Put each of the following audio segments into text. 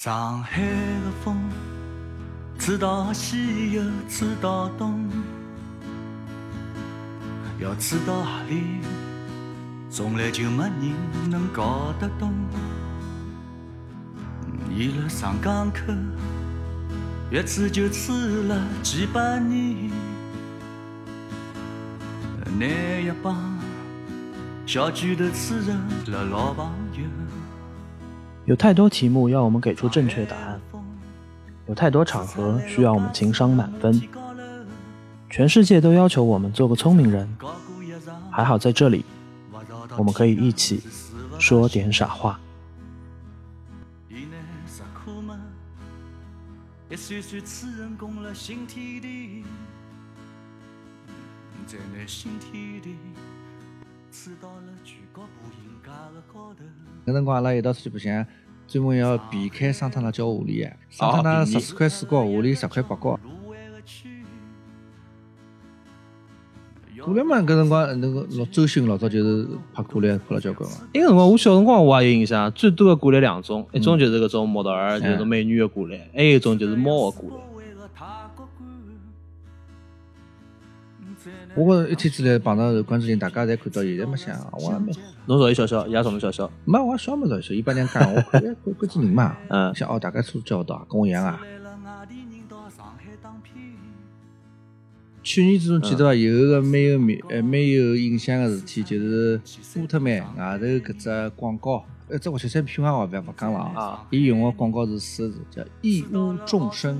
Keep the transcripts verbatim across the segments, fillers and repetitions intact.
上海的风，吹到西又吹到东，要吹到哪里，从来就没人能搞得懂。伊辣上港口，一吹就吹了几百年，拿一帮小拳头吹成了老朋友。 有太多题目要我们给出正确答案，有太多场合需要我们情商满分，全世界都要求我们做个聪明人，还好在这里我们可以一起说点傻话。一岁岁此人攻了新天地，在那新天地吹到了全国步行街的高头。 搿辰光阿拉一道出去白相，专门要避开桑塔纳交下钿个，桑塔纳十四块四角，下钿十块八角。可乐嘛，搿辰光那个老周迅老早就是拍可乐拍了交关嘛。 那个辰光我小辰光我也有印象，最多的可乐两种，一种就是搿种模特儿，就是美女的可乐，还有一种就是猫的可乐。 我觉一天之内碰到关之琳，大家侪看到，现在没想，我也没。 侬少伊笑笑，伊也朝侬笑笑。 没，我笑没少笑，伊把人讲，我看哎关关之琳嘛， 嗯， 想哦，大家素质交到，跟我一样啊。去年子侬记得伐？有个蛮有名、呃蛮有印象个事体，就是波特曼外头搿只广告，呃，这我确实品牌我勿勿讲了啊。伊用个广告是四个字，叫“一屋众生”。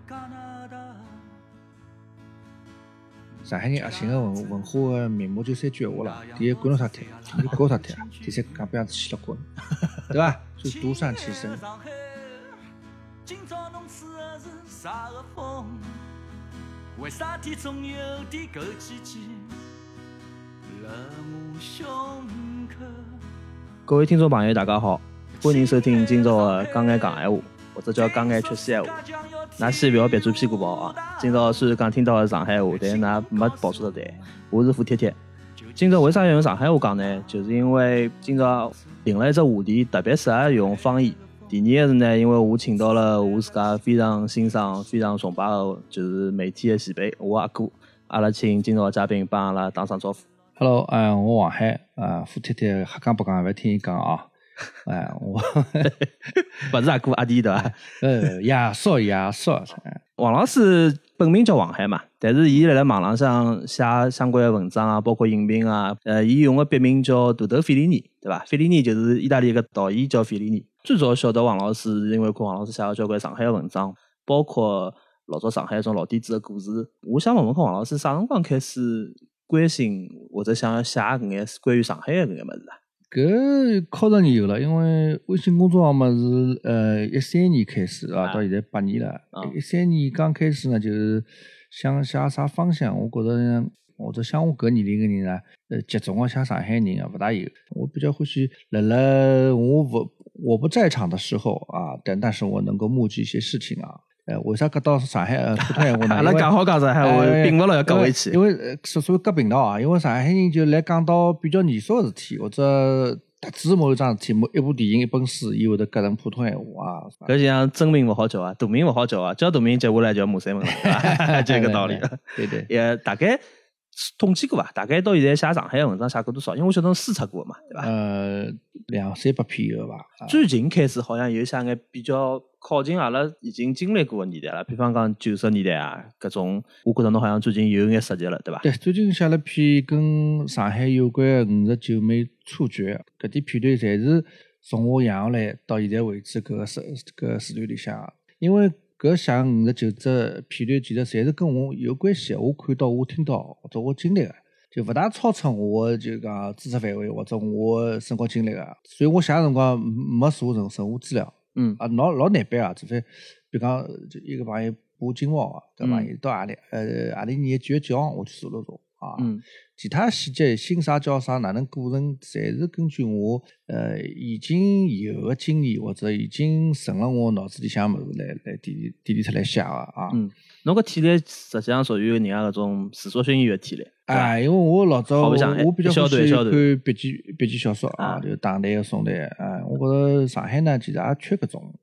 上海人核心个文文化个面貌就三句话了：第一，管侬啥体；第二，搞啥体；第三，讲不样子去了滚，对伐？所以独善其身。今朝侬吹的是啥个风？为啥体总有点枸杞杞辣我胸口？各位听众朋友大家好，欢迎收听今朝的讲眼讲闲话，或者叫讲眼吃西闲话。㑚先勿要别转屁股跑啊！今朝虽然讲听到的上海话，但㑚没跑错的对。我是付贴贴。今朝为啥要用上海话讲呢？就是因为今朝定了一只话题，特别适合用方言。第二个是呢，因为我请到了我自家非常欣赏、非常崇拜的，就是媒体的前辈，我阿哥。阿拉请今朝的嘉宾帮阿拉打声招呼。Hello， 哎、呃，我黄海啊，付贴贴瞎讲不讲，勿听伊讲啊。哎，我勿是阿哥阿弟对伐？呃，亚少亚少。王老师本名叫王海嘛，但是伊辣辣网浪向写相关的文章啊，包括影评啊，呃，伊用的笔名叫豆豆费里尼，对伐？费里尼就是意大利一个导演叫费里尼。最早晓得王老师是因为看王老师写了交关上海的文章，包括老早上海一种老底子的故事。我想问问看王老师啥辰光开始关心或者想要写搿眼关于上海的搿眼物事啊？搿靠实有了，因为微信公众号嘛是呃一三年开始啊，到现在八年了。一三、嗯、年刚开始呢，就是想写啥方向，我觉着或者像我搿年龄个人呢，呃，集中个写上海人啊，勿大有。我比较欢喜辣辣我勿我不在场的时候啊，但但是我能够目击一些事情啊。呃，为啥搿到上海呃普通闲话呢？阿拉讲好讲上海话，并勿牢要讲回去。因为呃，所所谓隔频道啊，因为上海人就来讲到比较严肃个事体，或者特指某一桩事体，某一部电影、一本书，伊会得隔成普通闲话啊。搿就像真名勿好叫啊，大名勿好叫啊，叫大名接下来叫马三门了，就搿个道理。对对，也大概统计过伐？大概到现在写上海的文章写过多少？因为我晓得输出过嘛，对伐？呃，两三百篇有伐？最近开始好像有写眼比较靠近阿拉已经经历过的年代了，比方讲九十年代啊，搿种，我觉得侬好像最近有眼涉及了，对伐？对，最近写了篇跟上海有关的五十九枚处决，搿点片段侪是从我养下来到现在为止搿个时搿个时段里向，因为搿写五十九只片段，其实侪是跟我有关系的，我看到、我听到或者我经历的，就勿大超出我就讲知识范围或者我生活经历的，所以我写的辰光没查任任何资料。嗯啊，老老难办啊！除非，比如讲，就一个朋友播金毛啊，搿朋友到何里，呃，何里年九月几号我去查了查啊。嗯，其他细节，姓啥叫啥，哪能过程，侪是根据我呃已经有的经验或者已经存了我脑子里向物事来来提提炼出来写的啊。嗯，侬搿体力实际上属于人家搿种自作训练的体力。啊，因为我老早我我比较欢喜看笔记笔记小说啊，就唐代个宋代啊。我觉着上海呢，其实也缺搿种，呃，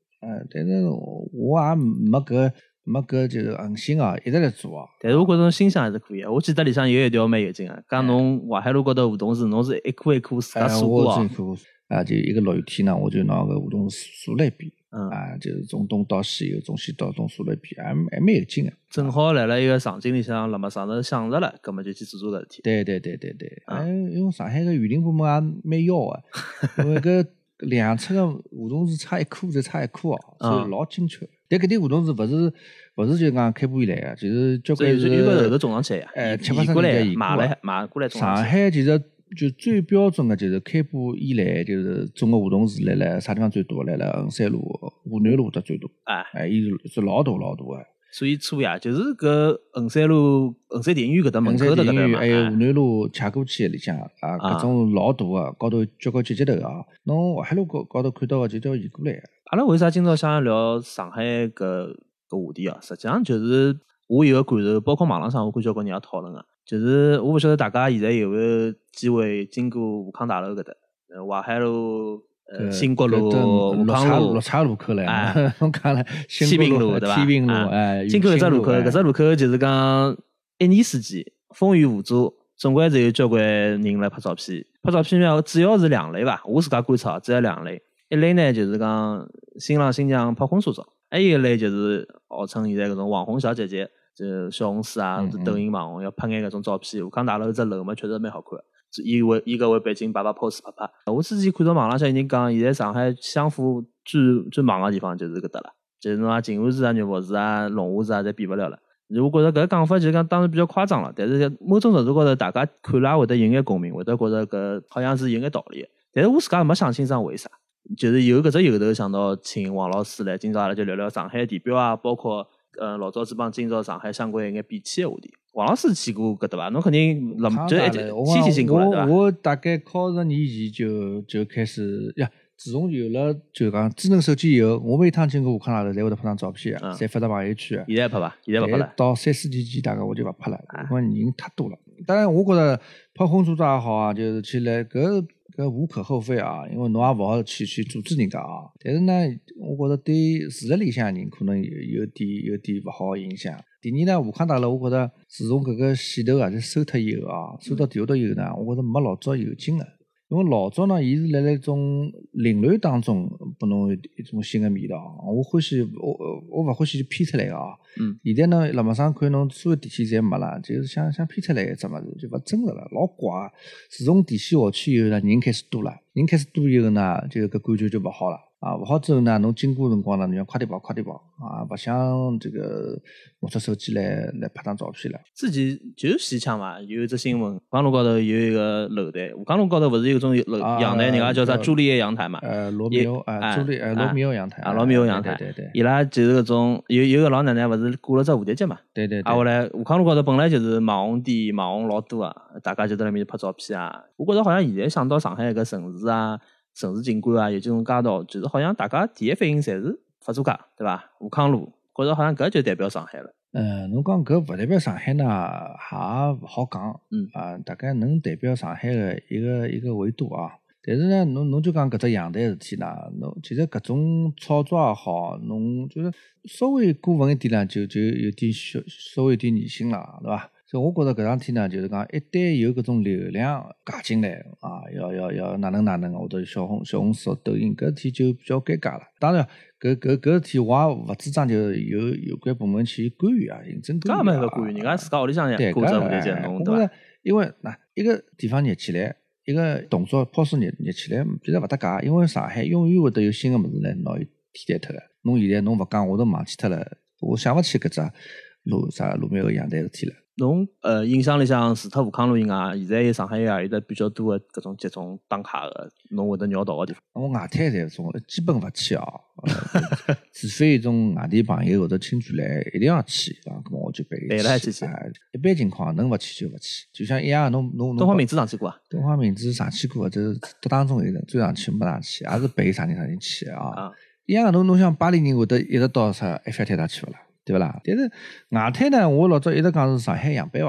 但是我也没搿没搿就是恒心啊，一直来做啊。 但是我觉着心想还是可以的。我记得里向有一条蛮有劲个，讲侬淮海路高头梧桐树，侬是一棵一棵自家数过哦。 啊，就一个落雨天呢，我就拿个梧桐数了一遍， 嗯啊，就是从东到西，又从西到东数了一遍，还还蛮有劲个。 正好来了一个场景里向，辣么上头想着了，葛么就去做做搿事体。 对对对对对， 嗯、 哎，因为上海个园林部门也蛮要个，因为搿两侧个梧桐树差一棵就差一棵哦，所以老精确。但搿点梧桐树勿是勿是就讲开埠以来个，就是交关是有个后头种上去呀， 哎，七八移过来移买来买过来种上去。 上海其实就最标准的就是开埠以来就是种个梧桐树来了啥地方最多？来了衡山路、湖南路的最多。 哎， 哎，伊是是老大老大个。 所以错呀，就是搿衡山路、衡山电影院搿搭门口头搿搭嘛， 还有湖南路恰过去里向啊，搿种老大个，高头交关接接头啊。侬淮海路高高头看到个就叫移过来个。 阿拉为啥今朝想要聊上海搿搿话题啊？实际上就是我有个感受，包括网浪上我看交关人也讨论个，就是我勿晓得大家现在有没有机会经过武康大楼搿搭，淮海路。呃，新国路、武康路、 六岔路口来， 哎， 侬讲了， 天平路对伐？ 天平路，哎， 经过搿只路口，搿只路口就是讲一年四季风雨无阻，总归是有交关人来拍照片。拍照片呢，主要是两类吧，我自家观察，主要两类。一类呢就是讲新郎新娘拍婚纱照，还有一类就是号称现在搿种网红小姐姐，就小红书啊、 嗯、 抖音网红要拍眼搿种照片。武康大楼只楼嘛，确实蛮好看。伊为伊搿为背景摆摆 pose 拍拍。我之前看到网浪向有人讲，现在上海相互最最忙个地方就是搿搭了，就是侬啊静安寺啊、肉佛寺啊、龙华寺啊，侪比勿了了。我觉着搿个讲法就是讲当然比较夸张了，但是某种程度高头大家看了也会得有眼共鸣，会得觉着搿好像是有眼道理。但是我自家没想清爽为啥，就是有搿只由头想到请王老师来，今朝阿拉就聊聊上海地标啊，包括呃老早子帮今朝上海相关一眼变迁个话题。王老师去过搿搭伐？侬肯定辣就一天天性过了对伐？ 我大概考十年前就就开始呀，自从有了就讲智能手机以后，我每趟经过武康大楼，侪会得拍张照片啊，侪发到朋友圈啊。 现在拍伐？现在勿拍了。 到三四年前，大概我就勿拍了，因为人太多了。当然，我觉着拍婚纱照也好啊，就是去来搿搿无可厚非啊，因为侬也勿好去去阻止人家啊。但是呢，我觉着对住辣里向人可能有有点有点勿好影响。第二呢，武康大楼我觉着自从搿个线头啊就收脱以后啊，收到地下头以后呢，我觉着没老早有劲了。因为老早呢，伊是辣辣一种凌乱当中拨侬一种新的味道。我欢喜我我勿欢喜就偏出来个啊。 嗯。 现在呢，辣马上看侬所有电线侪没了，就是想想偏出来一只物事，就勿真实了，老怪。自从电线下去以后呢，人开始多了，人开始多以后呢，就搿感觉就勿好了。啊，勿好之后呢，侬经过辰光呢，侬要快点跑，快点跑啊！勿想这个拿出手机来来拍张照片了。 之前就是西腔嘛，有一只新闻，武康路高头有一个楼台，武康路高头勿是有种楼阳台，人家叫啥朱丽叶阳台嘛？ 呃，罗密欧啊，朱丽呃罗密欧阳台啊，罗密欧阳台， 对对对， 伊拉就是搿种有有个老奶奶勿是挂了只蝴蝶结嘛？ 对对。 啊，后来武康路高头本来就是网红店，网红老多啊，大家就在那面拍照片啊。我觉着好像现在想到上海搿城市啊。城市景观啊，有这种街道，就是好像大家第一反应侪是法租界，对伐？武康路，觉着好像搿就代表上海了。 呃，侬讲搿勿代表上海呢，也勿好讲。 嗯啊，大概能代表上海的一个一个维度啊。但是呢，侬侬就讲搿只阳台事体呢，侬其实搿种炒作也好，侬就是稍微过分一点呢，就就有点小稍微有点迷信了，对伐？所以我觉着搿桩事体呢，就是讲一旦有搿种流量加进来啊，要要要哪能哪能，或者小红小红书、抖音搿事体就比较尴尬了。当然，搿搿搿事体我也勿主张就有有关部门去干预啊，行政干预啊。 搿没搿干预，人家自家屋里向也过着蝴蝶结弄，对伐？ 因为那一个地方热起来，一个动作抛出热热起来，其实勿搭界，因为上海永远会得有新个物事来拿伊替代脱个。侬现在侬勿讲，我都忘记脱了，我想勿起搿只路啥路面个阳台事体了。 侬呃印象里向除脱武康路以外，现在上海也有得比较多的搿种集中打卡个，侬会得绕道个地方。 我外滩侪种基本勿去啊，呃、除非有种外地朋友或者亲眷来，一定要去啊，咁我就陪伊去。去啊，一般情况能勿去就勿去，就像一样，侬侬东方明珠上去过啊？ 东方明珠上去过，就是都当中有人追上去没上去，也是陪啥人啥人去啊。啊一样，侬侬像巴黎人会得一直到啥埃菲尔铁塔去勿啦？对勿啦？但是外滩呢，我老早一直讲是上海样板房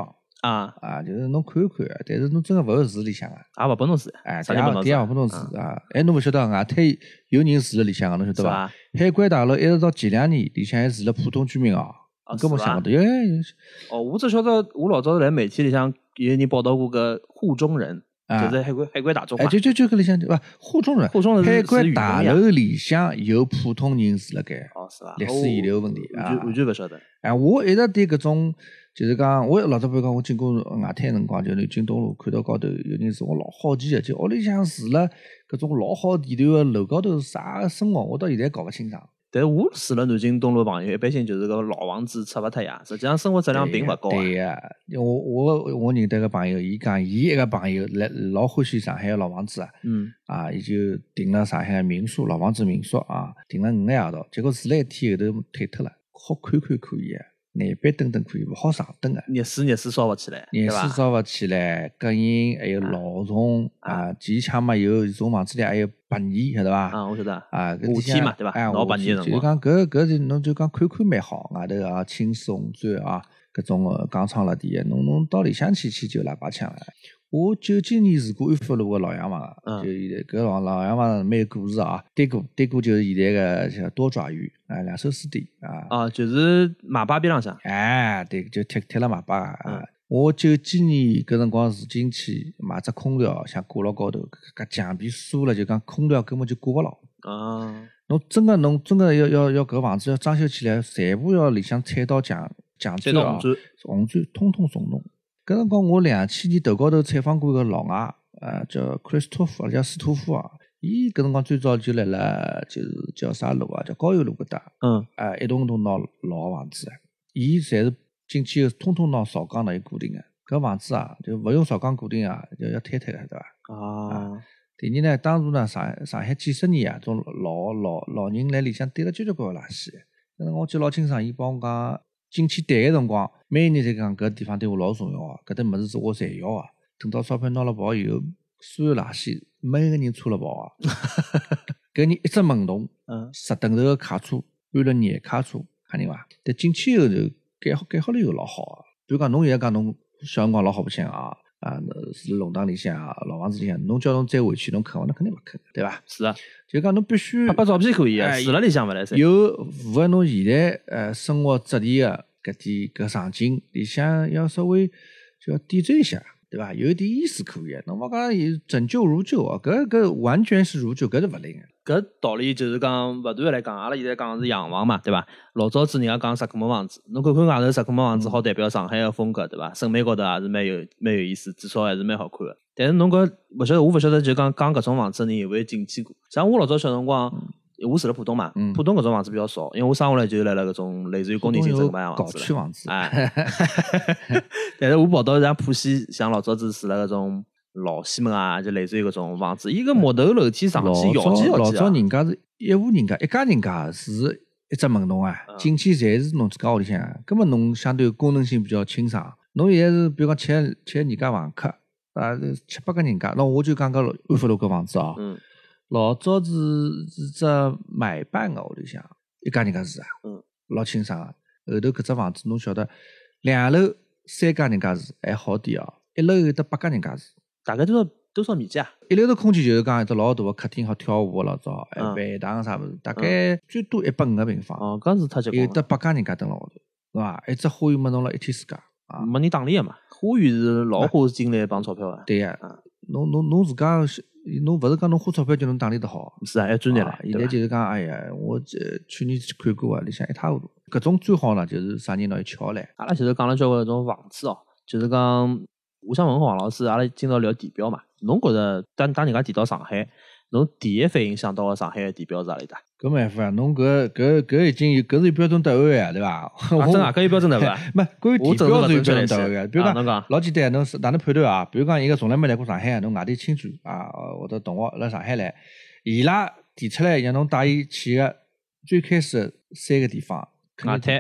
啊啊，就是侬看一看，但是侬真个勿会住里向啊， 也勿拨侬住， 哎， 啥人拨侬住第二第二勿拨侬住啊，哎，侬勿晓得外滩有人住辣里向个，侬晓得伐？ 是伐？ 海关大楼一直到前两年，里向还住了普通居民哦， 哦根本是伐想勿到，有有哦，我只晓得我老早辣媒体里向有人报道过个沪中人， 啊就是海关海关大中嘛哎，。就就就搿里向对伐？沪中人， 沪中人是海关是大语言楼里向有普通人住辣盖， 哦，是伐？ 历史遗留问题啊完全完全勿晓得。 哎，我一直对搿种就是讲，我老早比如讲，我经过外滩辰光，就南京东路看到高头有人住，我老好奇个，就屋里向住了搿种老好地段个楼高头啥生活，我到现在搞勿清爽。 但是我住了南京东路朋友，一般性就是个老房子拆勿脱呀，实际上生活质量并勿高啊。 对呀，我我我认得个朋友，伊讲伊一个朋友来老欢喜上海个老房子啊， 嗯， 啊，伊就订了上海个民宿，老房子民宿啊，订了五个夜到，结果住了一天后头退脱了，好看看可以啊，南北灯灯可以，勿好上灯个。 热水热水烧勿起来， 热对伐水？烧勿起来，隔音还有老虫啊，前腔嘛有这种房子里还有白蚁，晓得伐？ 啊，我晓得。 啊，搿夏天嘛对伐哎， 闹白夏天热的辰光就是讲搿搿是侬就讲看看蛮好，外头啊青丝红砖啊，搿种个钢窗辣底个，侬侬到里向去去就喇叭腔了。我九几年住过安福路个老洋房个， 嗯就现在搿老老洋房蛮有故事啊。对过对过就是现在个像多爪鱼啊，两手书店啊。 啊，就是马巴边浪向。 哎，对，就贴贴了马巴啊。 嗯我九几年搿辰光住进去买只空调，想挂牢高头，搿搿墙壁疏了，就讲空调根本就挂勿牢。 啊， 侬真个侬真个要要要搿房子要装修起来，全部要里向踩到墙墙砖啊踩到红，砖。 红砖通通松动。搿辰光我两千年头高头采访过一个老外，呃，叫克里斯托夫，叫斯托夫啊。伊搿辰光最早就来了，就是叫啥路啊？叫高邮路搿搭。 嗯， 啊，一栋栋拿老房子，伊侪是进去后通通拿扫钢来固定个。搿房子啊，就勿用扫钢固定啊，就要坍塌个，对伐？ 啊， 第二呢，当时呢，上上海几十年啊，种老老老人来里向堆了交交关关垃圾。搿辰光我记得老清爽，伊帮我讲，进去谈个辰光，每年侪讲搿地方对我老重要啊，搿搭物事是我侪要啊。等到钞票拿了跑以后，所有垃圾每个人搓了跑啊。搿人一只门洞， 嗯， 十吨头个卡车，安了廿卡车，看见伐？但进去后头改好改好了以后老好啊。比如讲，侬现在讲侬小辰光老好白相啊，啊，是弄堂里向啊，老房子里向，侬叫侬再回去，侬肯伐？侬肯定勿肯，对伐？ 是啊， 就讲侬必须拍拍照片可以啊， 哎住辣里向勿来塞。 有符合侬现在呃生活质地个搿点搿场景里向要稍微就要点缀一下，对伐？有一点意思可以，侬勿讲有拯救如旧啊，搿搿完全是如旧，搿是勿灵个。 搿道理就是讲勿断来讲，阿拉现在讲的是洋房嘛，对伐？老早子人家讲石库门房子，侬看看外头石库门房子好代表上海个风格，对伐？审美高头也是蛮有蛮有意思，至少还是蛮好看个。但是侬搿勿晓得，我勿晓得就讲讲搿种房子的人有没有进去过？像我老早小辰光，我住辣浦东嘛， 嗯浦东搿种房子比较少，因为我生下来就辣辣搿种类似于工人新城搿样搞房子了。 区房子， 哎，但是我跑到像浦西，像老早子住辣搿种老西门啊，就类似于搿种房子，伊个木头楼梯上老去摇几摇几啊早老早。人家是一户人家一家人家是一只门洞啊， 嗯进去侪是侬自家屋里向，根本侬相对功能性比较清爽。侬现在是比如讲吃吃人家房客啊，七八个人家，那我就讲个安福路搿房子哦， 嗯老早是是只买办个屋里向，一家人家住啊， 嗯， 老清爽个。后头搿只房子侬晓得，两楼三家人家住还好点哦，一楼有得八家人家住。 大概多少多少面积啊？ 一楼头空间就是讲一只老大个客厅，好跳舞个老早，还嗯饭堂啥物事，大概最多一百五个平方， 哦，搿是太结棍了， 有得八家人家蹲辣下头，是伐？一只花园没弄了一天世界啊！ 没人打理个嘛。花园是老花精力帮钞票个， 对呀嗯， 侬侬侬自家是，侬勿是讲侬花钞票就能打理得好。 是啊，要专业了啊。现在就是讲，哎呀，我这去年去看过啊，里向一塌糊涂。搿种最好呢，就是啥人拿伊撬来。 阿拉前头讲了交关搿种房子哦，就是讲，我想问黄老师，阿拉今朝聊地标嘛，侬觉着当当人家提到上海，侬第一反应想到个上海个地标是何里搭？ 搿没办法啊，侬搿搿搿已经有搿是有标准答案呀，对伐？ 啊，真啊，搿有标准对伐？ 没，关于地我真是勿标是有标准确来准答案个。比如讲啊侬讲， 老简单，侬是哪能判断啊？比如讲，一个从来没来过上海，侬外地亲眷啊，或者同学来上海来，伊拉提出来让侬带伊去个最开始的三个地方，肯定地标。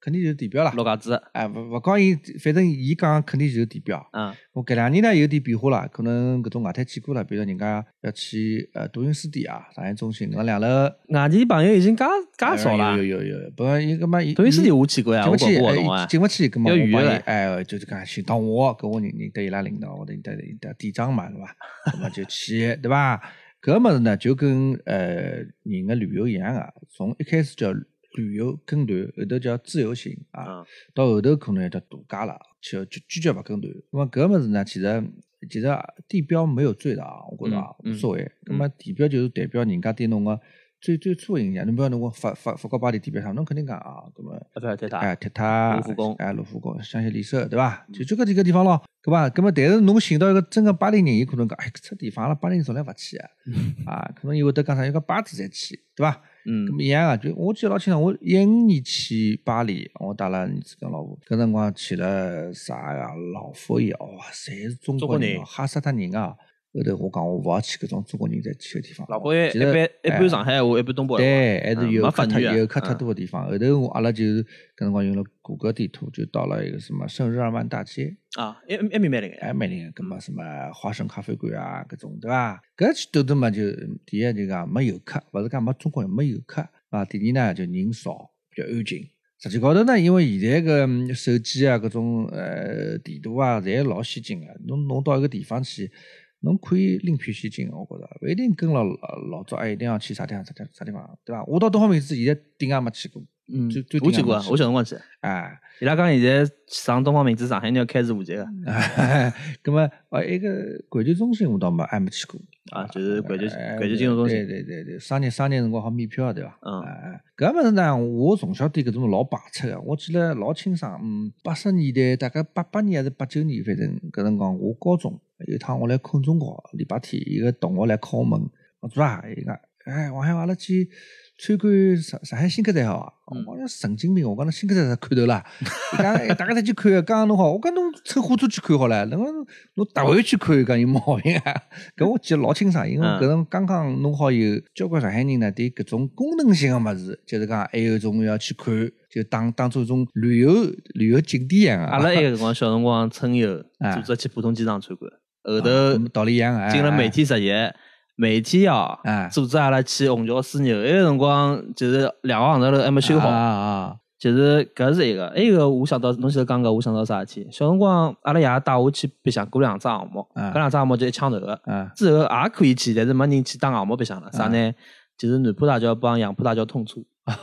肯定就是地标啦。 陆家嘴， 哎，勿勿讲伊，反正伊讲肯定就是地标。 嗯， 我搿两年呢有点变化啦，可能搿种外滩见过了，比如人家要去呃多云书店啊，上海中心搿两楼。 外地朋友已经介介少啦。 有有有有，不伊搿么伊多云书店我去过呀，我搞过活动啊。 进勿去，搿么我帮伊要预约哎，就是讲寻到我，搿我认认得伊拉领导，或者认得认得店长嘛，对伐？搿么就去，对伐？搿物事呢就跟呃人个旅游一样个，从一开始叫旅游跟团，后头叫自由行啊， 嗯、 到后头可能要叫度假了，就就坚决勿跟团。那么搿物事呢，其实其实地标没有罪的啊，我觉着啊无所谓。那么地标就是代表人家对侬个最最初的印象。侬比如侬法法法国巴黎地标上，侬肯定讲啊，搿么铁塔， 哎铁塔、 卢浮宫， 哎卢浮宫、香榭丽舍，对伐？就就搿几个地方咯，对伐？搿么但是侬寻到一个真个巴黎人，伊可能讲，哎，搿只地方阿拉巴黎人从来勿去啊，啊，可能伊会得讲啥，有个巴子才去，对伐？ 嗯， 咁一样啊，就我记得老清爽，我一五年去巴黎，我带了儿子跟老婆，搿辰光去了啥呀？老佛爷，哇，侪是中国人，吓死脱人啊！后头我讲我勿要去搿种中国人在去个地方。 老佛爷一般一般上海话，一般东北话， 对，还是游客太游游客太多个地方。后头我阿拉就是搿辰光用了谷歌地图，就到了一个什么圣日耳曼大街啊，一一面蛮灵个， 哎蛮灵个，搿么什么花生咖啡馆啊，搿种对伐？搿去兜兜嘛，就第一就讲没游客，勿是讲没中国人，没游客啊。第二呢就人少，比较安静。实际高头呢，因为现在个手机啊，搿种呃地图啊，侪老先进个，侬侬到一个地方去。侬可以另辟蹊径，我觉着勿一定跟了老早，哎，一定要去啥地方啥地方啥地方，对伐？我到东方明珠现在顶也没去过， 嗯， 最最我去过，我小辰光去， 哎， 伊拉讲现在上东方明珠，上海人要开除户籍个， 咁么哦，一个环球中心我倒没还没去过啊，就是环球环球金融中心， 对对对对，商业商业辰光好免票对伐？ 嗯， 哎，搿物事呢，我从小对搿种老排斥个，我记得老清爽，嗯，八十年代大概八八年还是八九年，反正搿辰光我高中。有一趟我来空中考，礼拜天一个同学来敲门，我做啥？伊讲，哎，王海，阿拉去参观上上海新客站好啊？ 嗯、 我讲神经病，我讲侬新客站看头啦？伊讲大家再去看，刚刚侬好，我讲侬乘火车去看好了，侬侬搭回去看，讲有毛病啊？搿我记得老清爽，因为搿种刚刚弄好以后，交关上海人呢对搿种功能性个物事，就是讲还有种要去看。就当当做一种旅游旅游景点一样啊！ 阿拉埃个辰光小辰光春游，组织去浦东机场参观，后头道理一样啊， 进了媒体实习，媒体哦，组织阿拉去虹桥枢纽，埃个辰光就是两个航站楼还没修好啊，就是搿是一个，还有一个我想到侬现在讲个，我想到啥事体？小辰光阿拉爷带我去白相过两只项目，搿两只项目就一枪头个，之后也可以去，但是没人去打项目白相了，啥呢？就是南浦大桥帮杨浦大桥通车。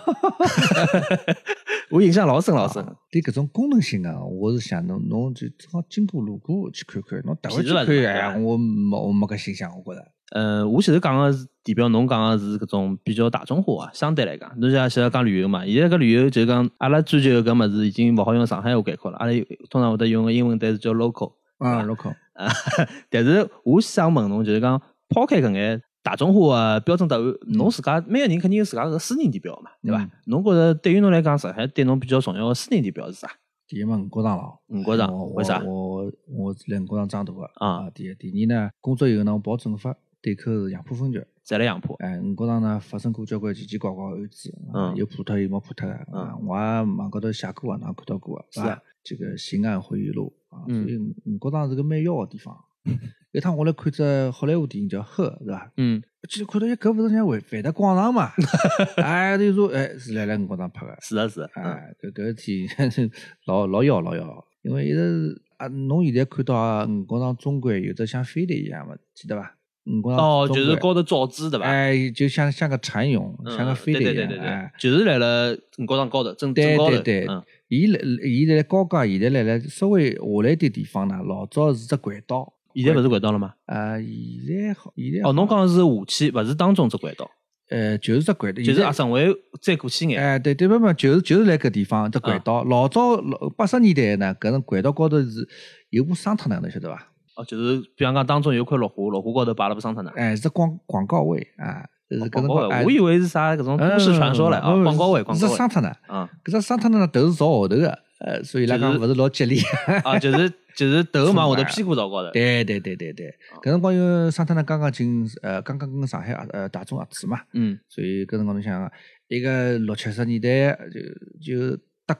我印象老深老深， 啊、对搿种功能性啊，我是想侬侬就正好经过路过去看看，侬待会去看，哎，我没我没搿心想，我觉着。 呃，我前头讲个是地标，侬讲个是搿种比较大众化啊，相对来讲，侬像现在讲旅游嘛，现在搿旅游就是讲阿拉追求搿物事已经勿好用上海话概括了，阿拉通常会得用个英文单词叫 local， 啊 local， 啊，但是我想问侬，就是讲抛开搿眼。大众化个标准答案，侬自家每个人肯定有自家个私人地标嘛，对伐？侬觉着对于侬来讲，上海对侬比较重要个私人地标是啥？ 第一嘛，五角场咯， 五角场为啥？ 我我是来五角场长大个啊。 第一，第二呢，工作以后呢，我跑政法对口是杨浦分局， 在辣杨浦。 哎，五角场呢发生过交关奇奇怪怪个案子， 嗯， 有破脱有没破脱个，嗯，我也网高头写过啊，㑚看到过啊， 是啊， 这个刑案回忆录啊， 所以五角场是个蛮妖个地方。一趟我来看只好莱坞电影叫《赫》，是伐？ 嗯， 其实看到一搿勿是像万万达广场嘛？哎，就说哎是来来五角场拍个。 是啊是啊。 哎，搿搿事体老老妖老妖，因为一直啊，侬现在看到啊五角场中环有只像飞碟一样嘛，记得伐？五角场哦，就是高头造纸对伐？ 哎，就像像个蚕蛹，像个飞碟一样。 对对对对，就是来了五角场高头，正正高头。 对对对，伊来伊来高架，现在来了稍微下来点地方呢，老早是只轨道。 现在勿是轨道了吗？ 啊，现在好，现在哦，侬讲是下去，勿是当中只轨道。 呃，就是只轨道， 就是阿省委再过去眼。 哎，对对不不，就是就是来搿地方只轨道。老早八十年代呢，搿种轨道高头是有部桑塔纳，侬晓得伐？ 哦，就是比方讲当中有块绿化，绿化高头摆了部桑塔纳。 哎，是广广告位啊，是搿种。我以为是啥搿种都市传说唻啊，广告位，广告位。 是桑塔纳啊，搿只桑塔纳头是朝后头个。呃，所以拉讲勿是老吉利啊，就是就是头嘛，或者屁股朝高头。 对对对对对，搿辰光因为桑塔纳刚刚进呃，刚刚跟上海呃大众合资嘛， 嗯， 所以搿辰光侬想一个六七十年代就就德国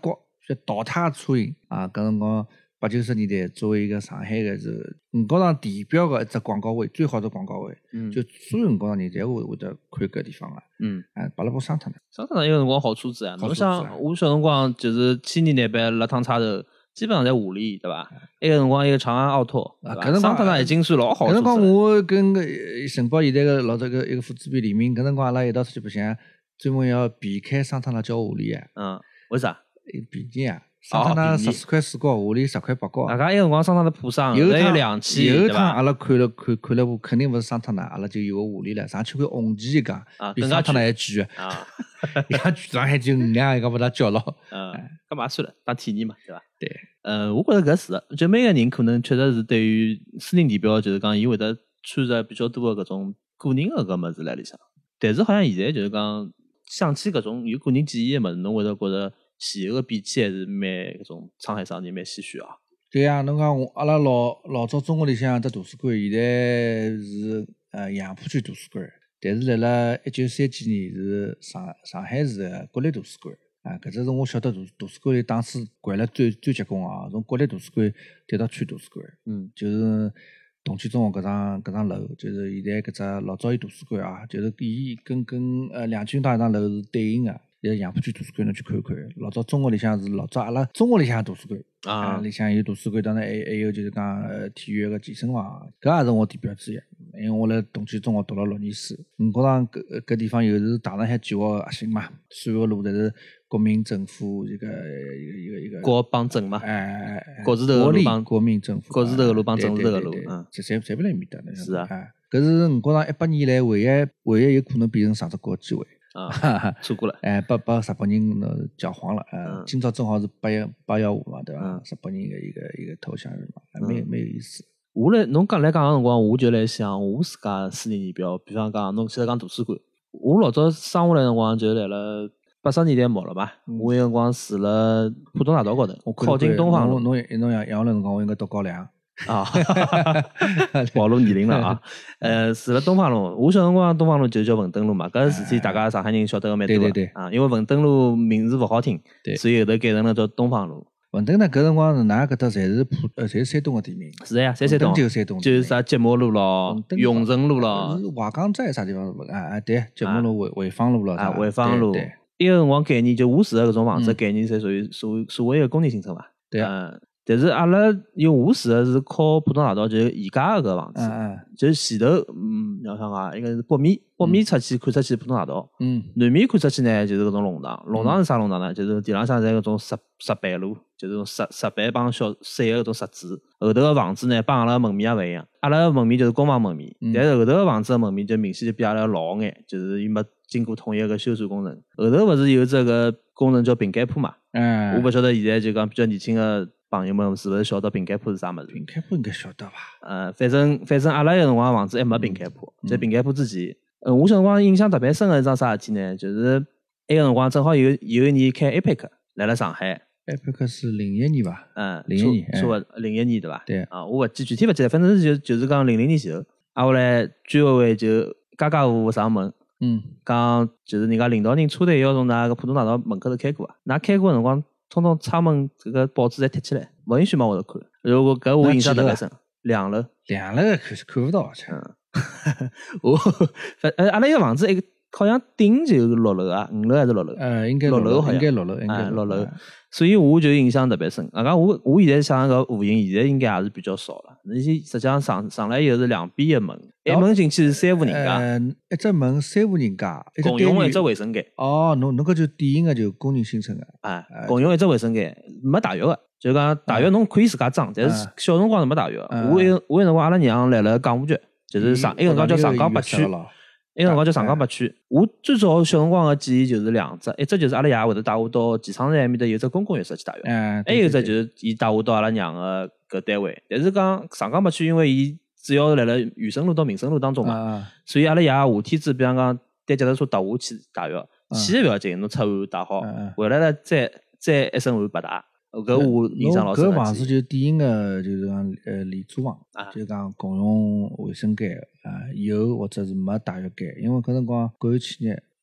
叫倒塌苍蝇啊，搿辰光八九十年代作为一个上海个是五角场地标个一只广告位，最好的广告位， 嗯就所有五角场人侪会会得看搿地方个， 嗯， 啊，把拉部伤脱了。 上趟有辰光好车子啊，侬好车子啊想我小辰光就是七年代班辣趟差头，基本上在五里对伐？那个辰光一个长安奥拓，对伐？ 啊搿辰光上趟已经算老好搿辰车子了。 光我跟个承包现在个老早个一个副主编李明，搿辰光阿拉一道出去白相，专门要避开桑塔纳叫下里啊， 嗯，为啥？ 便宜啊，桑塔纳十四块四角，下里十块八角啊。 大家一个辰光上趟的铺上， 有一趟两期， 有一对吧？ 趟阿拉看了看看了部，肯定勿是桑塔纳，阿拉就有个下里了，上去看红旗一讲， 啊更加比桑塔纳还贵贵啊， 伊拉剧场还就五两，伊讲勿大叫咯。 嗯，干嘛算了，当体验嘛，对吧？ 对， 呃，我觉着搿是的，就每个人可能确实是对于私人地标，就是讲伊会得穿着比较多的搿种个人的搿物事辣里向。但是好像现在就是讲想起搿种有个人记忆的物事，侬会得觉着前后的比起还是蛮搿种沧海桑田，蛮唏嘘啊。 对呀，侬讲我阿拉老老早中学里向只图书馆，现在是呃杨浦区图书馆，但是辣辣一九三几年是上上海市的国立图书馆。啊，搿只是我晓得图图书馆里当时管了最最结棍啊，从国立图书馆调到区图书馆， 嗯， 就是同济中学搿幢搿幢楼，就是现在搿只老早有图书馆啊，就是伊跟跟呃两军大一幢楼是对应的。在杨浦区图书馆侬去看看，老早中学里向是老早阿拉中学里向图书馆啊里向有图书馆，当然还还有就是讲呃体育个健身房，搿也是我地标之一。因为我辣同济中学读了六年书，五角场搿搿地方又是大上海计划个核心嘛，所有路侪是国民政府一个一个一个一个国帮镇嘛， 哎哎哎， 国字头的国立路帮国民政府， 国字头的路帮对政治头的路对对对嗯这侪侪勿辣埃面搭呢。 是啊哎，搿是五角场一百年以来唯一唯一有可能变成上只国机会。 啊，错过了。 哎，把把日本人呃搅黄了，呃， 嗯今朝正好是八幺八幺五嘛，对伐？ 嗯日本人的一个一个投降日嘛，还蛮嗯蛮有意思。 我来侬讲来讲个辰光，我就来想我自家私人地标，比方讲侬现在讲图书馆，我老早生下来辰光就来了八十年代末了嘛，我有辰光住了浦东大道高头，靠近东方路侬侬侬杨杨楼辰光，我应该读高两。 啊，暴露年龄了啊！呃，住了东方路，我小辰光东方路就叫文登路嘛，搿事体大家上海人晓得个蛮多的对对对啊，因为文登路名字勿好听， 对所以后头改成了叫东方路。 文登呢，搿辰光㑚搿搭侪是浦呃，侪是山东个地名。 是的呀，三山东文登就是山东就是啥节末路咯文、登永城路咯是华港寨啥地方？啊啊，对，节目路潍潍坊路咯， 啊， 啥潍坊路对对。 伊个辰光概念就我住的搿种房子嗯概念，侪属于所所谓的公共新村嘛。 对啊嗯，但是阿拉因为我住的是靠浦东大道，就是宜家个搿房子， 嗯嗯就是前头嗯，要想讲应该是北面，北面出去看出去浦东大道， 嗯南面看出去呢就是搿种弄堂。弄堂是啥弄堂呢？就是地浪向侪搿种石石板路，就是种石石板帮小散个搿种石子。后头个房子呢，帮阿拉门面也勿一样。阿拉个门面就是公房门面， 嗯但是后头个房子个门面就明显就比阿拉老眼，就是伊没经过统一个修缮工程。后头勿是有只个工程叫平间铺嘛？ 嗯， 我勿晓得现在就讲比较年轻个朋友们是勿是晓得平间铺是啥物事？ 平开铺应该晓得伐？ 呃，反正反正阿拉个辰光房子还没平间铺， 嗯在平间铺之前，呃，我小辰光印象特别深个一桩啥事体呢？就是埃个辰光正好有有一年开 A P E C 来了上海， 埃佩克是零一年伐？ 嗯， 零一年哎差不多零一年对伐？ 对啊，我勿记具体勿记得，反正是就就是讲零零年前后，啊后来居委会就家家户户上门， 嗯， 讲就是人家领导人车队要从㑚个浦东大道门口头开过啊，㑚开过个辰光，通通窗门这个报纸侪贴起来，勿允许往下头看。如果搿我印象特别深，两楼， 两楼看是看勿到，去。 我反呃阿拉一个房子一个好像顶就是六楼啊，五楼还是六楼？ 呃，应该六楼好像应该六楼，应该哎六楼，所以我就印象特别深。啊，讲我我现在想搿户型，现在应该也是比较少了。那些实际上上上来以后是两边一门，一门进去是三户人家， 呃，一只门三户人家，一只共用一单元只卫生间。 哦，侬侬搿就典型个就公人新村个， 哎，共用一只卫生间，没大浴个。就讲大浴侬可以自家装，但是小辰光是没大浴个。 嗯我有我有辰光阿拉娘来了港务局，就是上一个辰光叫上港北区。那个辰光叫上港北区，我最早小辰光个记忆就是两只，一只就是阿拉爷会得带我到机场站埃面搭有只公共浴室去洗浴， 嗯， 还有一只就是伊带我到阿拉娘个搿单位。但是讲上港北区，因为伊主要是辣辣宇生路到民生路当中嘛， 啊， 所以阿拉爷夏天子，比方讲单脚踏车踏下去洗浴，去也勿要紧，侬出汗打好嗯嗯， 回来了再再一身汗白打。搿我印象老深搿个记忆。 房子就典型个就是讲呃廉租房啊， 就是讲共用卫生间啊，有或者是没大浴间，因为搿辰光国有企业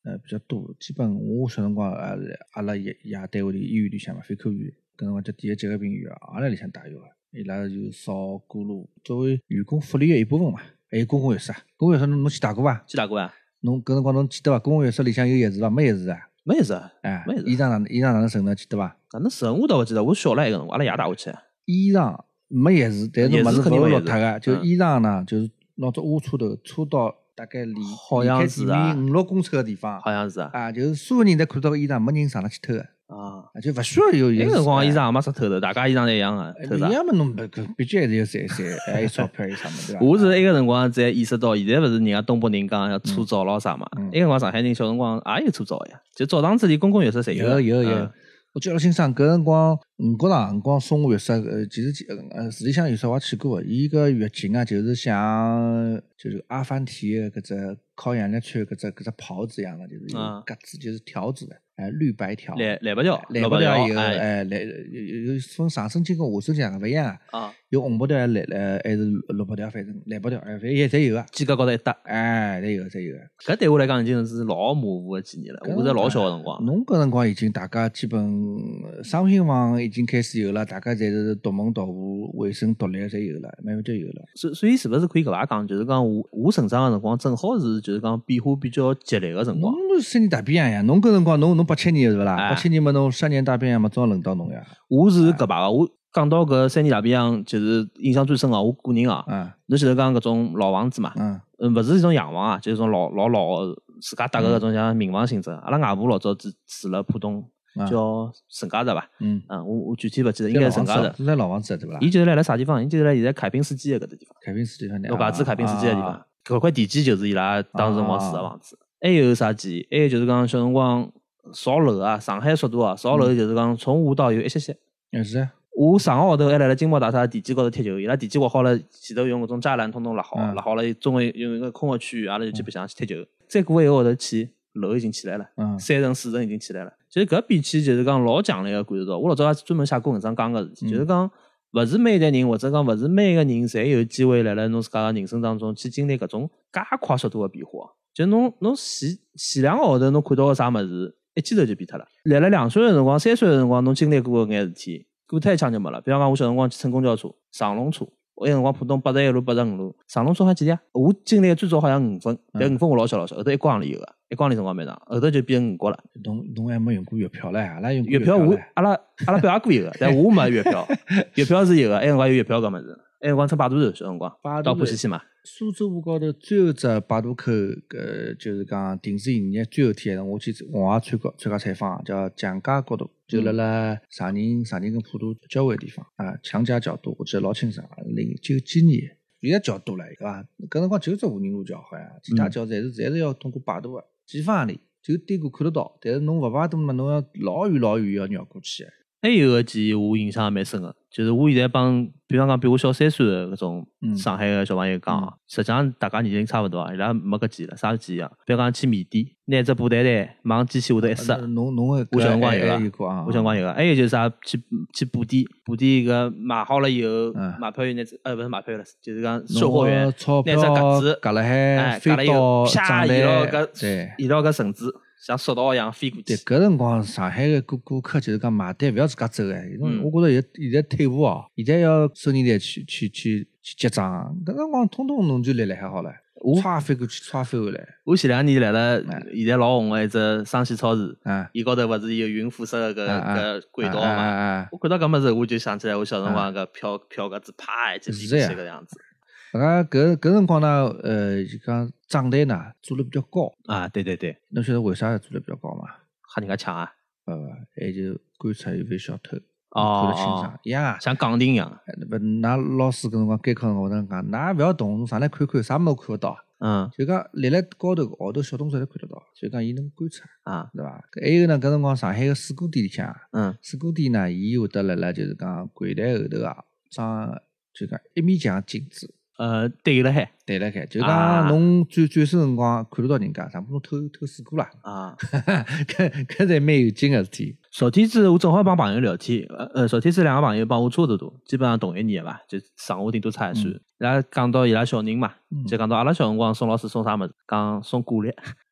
呃比较多。基本我小辰光啊，阿拉爷爷单位里医院里向嘛，肺科院，搿辰光叫第一急个病院啊，也辣里向打药个。伊拉就扫过路，作为员工福利个一部分嘛。还有公共浴室啊，公共浴室侬侬去打过伐？ 去打过啊？ 侬搿辰光侬记得伐？公共浴室里向有浴室伐？没浴室啊？ 没浴室啊？ 哎， 没浴室。 衣裳哪衣裳哪能剩呢？记得伐？ 哪能剩我倒勿记得，我小了埃个辰光，阿拉爷带我去。 衣裳没浴室，但是物事勿会落脱个，就嗯衣裳呢，就是拿只挖车头车到大概离好像是啊离开地面五六公尺个地方， 好像是啊。 啊，就是所有人侪看到个衣裳，没人上来去偷个。 啊， 就勿需要有浴室。 那个辰光衣裳也没啥偷的，大家衣裳侪一样个，偷啥？ 一样嘛，侬搿毕竟还是要赚赚，还有钞票有啥么对伐？ 我是埃个辰光才意识到，现在勿是人家东北人讲要搓澡咯啥嘛？ 嗯埃个辰光上海人小辰光也有搓澡呀，就澡堂子里公共浴室侪有有有。 嗯我记得老清爽，搿辰光五角场辰光松湖浴室，呃，其实呃市里向浴室我也去过，伊个浴巾啊，就是像就是阿凡提的搿只烤羊肉串搿只搿只袍子一样的，就是有格子，就是条子的，哎，绿白条， 蓝蓝白条， 蓝白条有，哎，蓝有有分上身巾跟下身巾勿一样啊， 有红白条、蓝蓝还是绿白条，反正蓝白条，哎，反正也侪有个， 肩胛高头一搭， 哎，侪有侪有个。 搿对我来讲已经是老模糊个记忆了，我在老小个辰光。 侬搿辰光已经大家基本商品房已经开始有了，大家侪是独门独户、卫生独立侪有了，慢慢就有了。 所所以是勿是可以搿伐讲？就是讲我我成长个辰光，正好是就是讲变化比较激烈个辰光。 侬三年大变样呀，侬搿辰光侬侬八七年是勿啦？ 哎八七年嘛，侬三年大变样嘛，总要轮到侬呀。 我是搿排个，我讲到搿三年大变样，就是印象最深个，我个人啊， 嗯， 侬前头讲搿种老房子嘛， 嗯， 嗯，勿是一种洋房啊，就是种老老老个自家搭个搿种像民房性质。阿拉外婆老早住住了浦东，叫沈家宅伐？嗯，嗯，我我具体勿记得，应该是沈家宅。 是在老房子对伐？ 伊就是辣辣啥地方？伊就是辣现在凯宾斯基个搿个地方。 凯宾斯基地方， 陆家嘴凯宾斯基个地方。搿块地基就是伊拉当时辰光住个房子。还有啥记忆？还有就是讲小辰光扫楼啊，上海速度啊，扫楼就是讲从下到有一歇歇。 嗯，是啊。 我上个号头还辣辣金茂大厦地基高头踢球，伊拉地基挖好了，前头用搿种栅栏通通立好，立好了，中间用一个空个区域，阿拉就去白相去踢球。再过一个号头去，楼已经起来了，三层四层已经起来了。其实搿比起就是讲老强烈个感受到，我老早也专门写过文章讲搿事体，就是讲勿是每一代人或者讲勿是每一个人侪有机会辣辣侬自家个人生当中去经历搿种介快速度个变化。就侬侬前前两个号头侬看到个啥物事，一记头就变脱了。辣辣两岁个辰光、三岁个辰光，侬经历过搿眼事体。过脱一枪就没了。比方讲，我小辰光去乘公交车、上龙车，我那辰光浦东八十一路、八十五路，上龙车好几钿啊？我经历最早好像五分，但五分我老小老小，后头一光里有个，一光里辰光蛮长，后头就变成五角了。 侬侬还没用过月票唻？阿拉用月票，我阿拉阿拉表也过有个，但我没月票，月票是有个，那辰光有月票搿物事。那辰光乘摆渡船，小辰光到浦西去嘛。 苏州河高头最后只摆渡口，搿就是讲停止营业最后天，我去我也参加参加采访，叫蒋家角度，就辣辣上宁上宁跟普渡交汇的地方啊，强家角度，我记得老清爽，零九几年，现在桥多了，对伐？搿辰光就只无人路桥好像，其他桥侪是侪是要通过摆渡个，几分里就对过看得到，但是侬勿摆渡嘛，侬要老远老远要绕过去。 还有个记忆我印象也蛮深个，就是我现在帮，比方讲比我小三岁个搿种上海个小朋友讲，嗯、实际上大家年龄差勿多啊，伊拉没搿记忆了，啥记忆啊？比方讲去米店，拿只布袋袋往机器下头一塞， 侬侬个我小辰光有个， 我小辰光有个，还有就是啥去去布店，布店搿买好了以后， 嗯、 买票员拿只呃勿是买票员了，就是讲售货员拿只格子夹辣海，飞到啪移牢搿对移牢搿绳子。像索道一样飞过去。 对，搿辰光上海个顾顾客就是讲买单勿要自家走哎，嗯、我觉着现现在退步哦，现在要收银台去去去去结账，搿辰光通通侬就立辣海好了，歘飞过去，歘飞回来。 我前两年来了，现在老红个一只生鲜超市， 啊， 伊高头勿是有云辐射个搿搿轨道嘛？我看到搿物事，我就想起来我小辰光搿票票格子啪一记飞过去搿样子。 啊，搿搿辰光呢，呃，就讲账单呢做了比较高啊，对对对， 侬晓得为啥做了比较高嘛？ 吓人家抢啊？ 呃，还就观察有没小偷， 哦， 看得清爽呀， 像钢钉一样。 勿，㑚老师搿辰光监考辰光，我跟讲，㑚勿要动，侬上来看看，啥物事看勿到。 嗯， 就讲立辣高头号头小动作侪看得到，所以讲伊能观察啊， 对伐？还有呢，搿辰光上海个水果店里向， 嗯， 水果店呢，伊会得辣辣就是讲柜台后头啊，装就讲一面墙镜子。 呃，对了海， 对了海，就讲侬转转身辰光看得到人家，上不侬偷偷水果啦啊， 搿搿才蛮有劲个事体。 昨天子我正好帮朋友聊天，呃，昨天子两个朋友帮我差不多，基本上同一年个伐，就上下顶多差一岁。伊拉讲到伊拉小人嘛，就讲到阿拉小辰光送老师送啥物事，讲送果粒。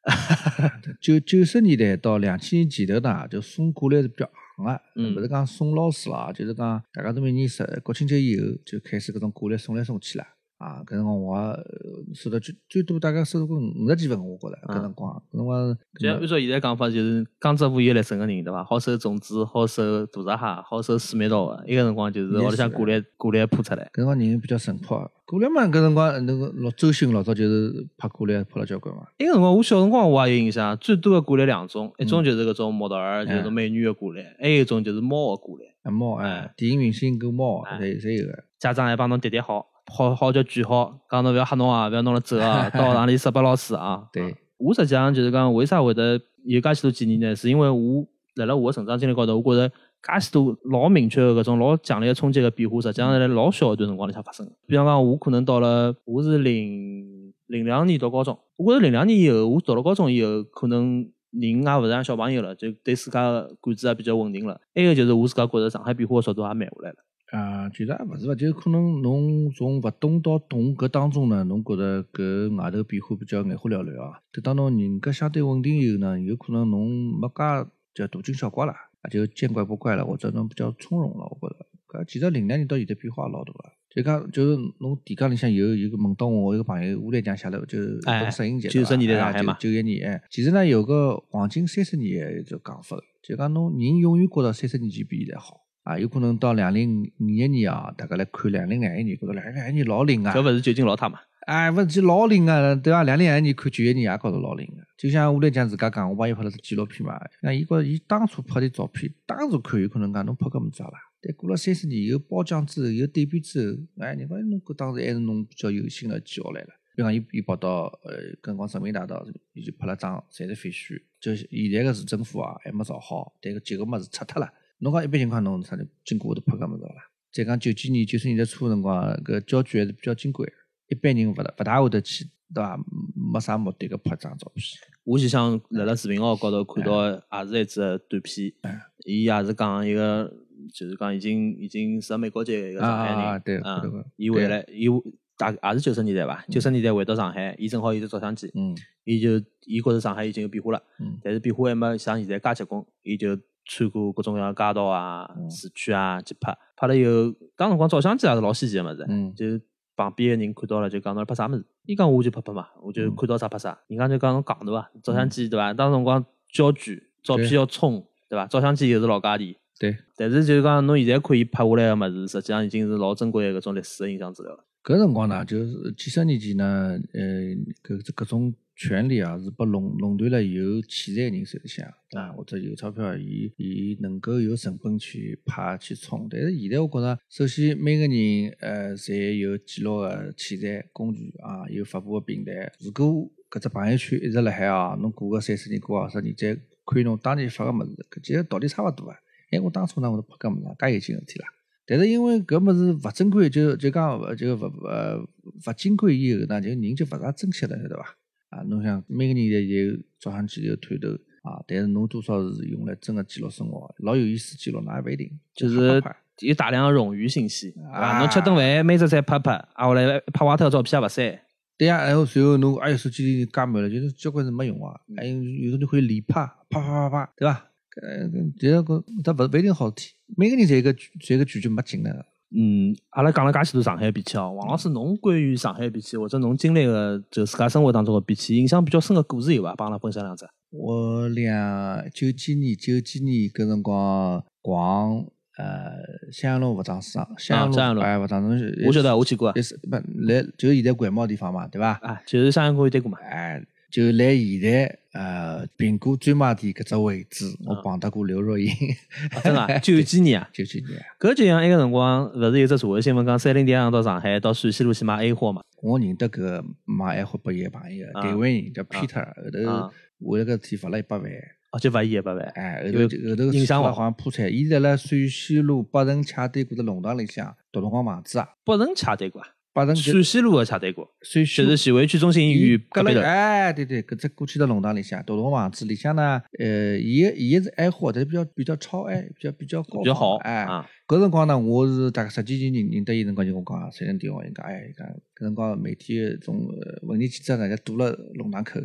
九九十年代到两千年前头呢，就送过来是比较行个， 嗯勿是讲送老师啦，就是讲大家都每年十国庆节以后就开始搿种过来送来送去啦。啊，搿辰光我呃收到最最多大概收到过五十几份，我觉着搿辰光，搿辰光就按照现在讲法，就是江浙沪有来省个人对伐？好收粽子，好收大闸蟹，好收水蜜桃个。伊个辰光就是屋里向过来过来铺出来。 搿辰光人比较淳朴，过来嘛搿辰光那个老周星老早就是拍过来拍了交关嘛。 伊个辰光我小辰光我也有印象，最多个过来两种，一种就是搿种模特儿，就是美女个过来，还有一种就是猫个过来。 啊猫哎，电影明星跟猫侪侪有个。 家长还帮侬叠叠好。好好叫句好，讲侬勿要吓侬啊，勿要弄了走啊，到学堂里杀拨老师啊。 对， 我实际上就是讲，为啥会得有介许多建议呢？是因为我辣辣我个成长经历高头，我觉着介许多老明确个搿种老强烈个冲击个变化，实际上是辣老小一段辰光里向发生的。比方讲，我可能到了我是零零两年读高中，我觉着零两年以后，我读了高中以后，可能人也勿是像小朋友了，就对自家个感知也比较稳定了。还有就是我自家觉着上海变化个速度也慢下来了。 啊，其实也勿是伐，就可能侬从勿懂到懂搿当中呢，侬觉着搿外头变化比较眼花缭乱啊。等到侬人格相对稳定以后呢，有可能侬没介叫大惊小怪了，也就见怪不怪了，或者侬比较从容了。我觉着搿其实零两年到现在变化老大个，就讲就是侬提纲里向有有个问到我，我一个朋友乌来讲写了，就是本摄影节九十年代上海嘛， 九一年哎，其实呢有个黄金三十年的一种讲法，就讲侬人永远觉着三十年前比现在好。啊，有可能到两零二一年啊，大家来看两零二一年，觉得两零二一年老灵啊。 搿勿是究竟老太嘛？ 哎，勿是老灵啊，对伐？两零二一年看九一年也觉着老灵个。就像我来讲自家讲，我帮伊拍了只纪录片嘛，那伊觉着伊当初拍的照片，当时看有可能讲侬拍搿么子啦，但过了三十年有褒奖之后，有对比之后，哎，人讲侬搿当时还是侬比较有心的记下来了。比方伊伊跑到呃，搿辰光人民大道，伊就拍了张侪是废墟，就是现在个市政府啊还没造好，但搿几个物事拆脱了。侬讲一般情况侬啥就经过会得拍搿物事啦。再讲九几年、九十年代初辰光，搿郊区还是比较金贵，一般人勿大勿大会得去，对伐？没啥目的搿拍张照片。 我就想辣辣视频号高头看到，也是一只短片，伊也是讲一个，就是讲已经已经是美国籍一个上海人， 啊对， 嗯，伊回来，伊大也是九十年代吧，九十年代回到上海，伊正好有只照相机，嗯，伊就伊觉着上海已经有变化了，嗯，但是变化还没像现在介结棍，伊就穿过各种各样的街道啊、市区啊去拍，拍了以后，当辰光照相机也是老稀奇的物事，嗯，就旁边的人看到了就讲侬拍啥物事，伊讲我就拍拍嘛，我就看到啥拍啥，人家就讲侬戆对伐？照相机对伐？当辰光焦距照片要冲对伐？照相机又是老价钿， 对， 但是就是讲侬现在可以拍下来的物事，实际上已经是老珍贵的搿种历史的影像资料了。 搿辰光呢，就是几十年前呢，呃，搿搿种权利啊，是被垄垄断了有钱财人手里向，对伐？或者有钞票，伊伊能够有成本去拍去冲。但是现在我觉着，首先每个人呃，侪有记录个器材工具啊，有发布个平台。如果搿只朋友圈一直辣海啊，侬过个三十年、过二十年，再看侬当年发个物事，搿其实道理差勿多啊。哎，我当初呢，我都拍搿物事，介有劲事体啦。但是因为搿物事勿珍贵，就就讲就勿呃勿金贵以后呢，就人就勿大珍惜了，晓得伐？啊，侬想每个人侪有照相机有探头啊，但是侬多少是用来真个记录生活，老有意思记录，那也勿一定。 就是有大量的冗余信息啊，侬吃顿饭每只菜拍拍，啊后来拍坏脱照片也勿删。 对呀，然后随后侬哎哟手机里加满了，就是交关是没用啊，还有有的人可以连拍，啪啪啪啪，对伐？呃，其实搿它勿勿一定好事体，每个人侪个侪个拒绝没劲的。 嗯，阿拉讲了介许多上海变迁哦，王老师侬关于上海变迁或者侬经历个就自家生活当中个变迁，印象比较深个故事有伐？帮阿拉分享两只。 我两九几年九几年搿辰光逛呃襄阳路服装市场，襄阳路哎服装市场， 我晓得我去过， 也是不来就是现在国贸地方嘛，对伐？ 啊，就是襄阳公园对过嘛。 哎。就来现在呃苹果专卖店搿只位置，我碰到过刘若英， 啊、真的九几年啊， 九几年。 搿就像埃个辰光，勿是有只社会新闻讲三菱电行到上海到陕西路去买 A 货嘛？ 我认得搿买 A 货拨伊个朋友，台湾人叫 Peter，后头为了搿事体罚了一百万。 哦，就罚伊一百万。 哎，后头后头影响好像破产。伊在辣陕西路北辰洽对过的弄堂里向读辰光房子啊。 北辰洽对过啊。 陕西路的洽对过， 陕西就是徐汇区中心医院隔壁头。 哎，对对，搿只过去的弄堂里向，独栋房子里向呢，呃，伊伊是爱货，但是比较比较超爱，比较比较高， 比较好。 哎， 啊， 搿辰光呢，我是大概十几年认认得伊辰光就跟我讲，谁能电话，伊讲，哎，伊讲搿辰光媒体种文艺记者呢，就堵了弄堂口，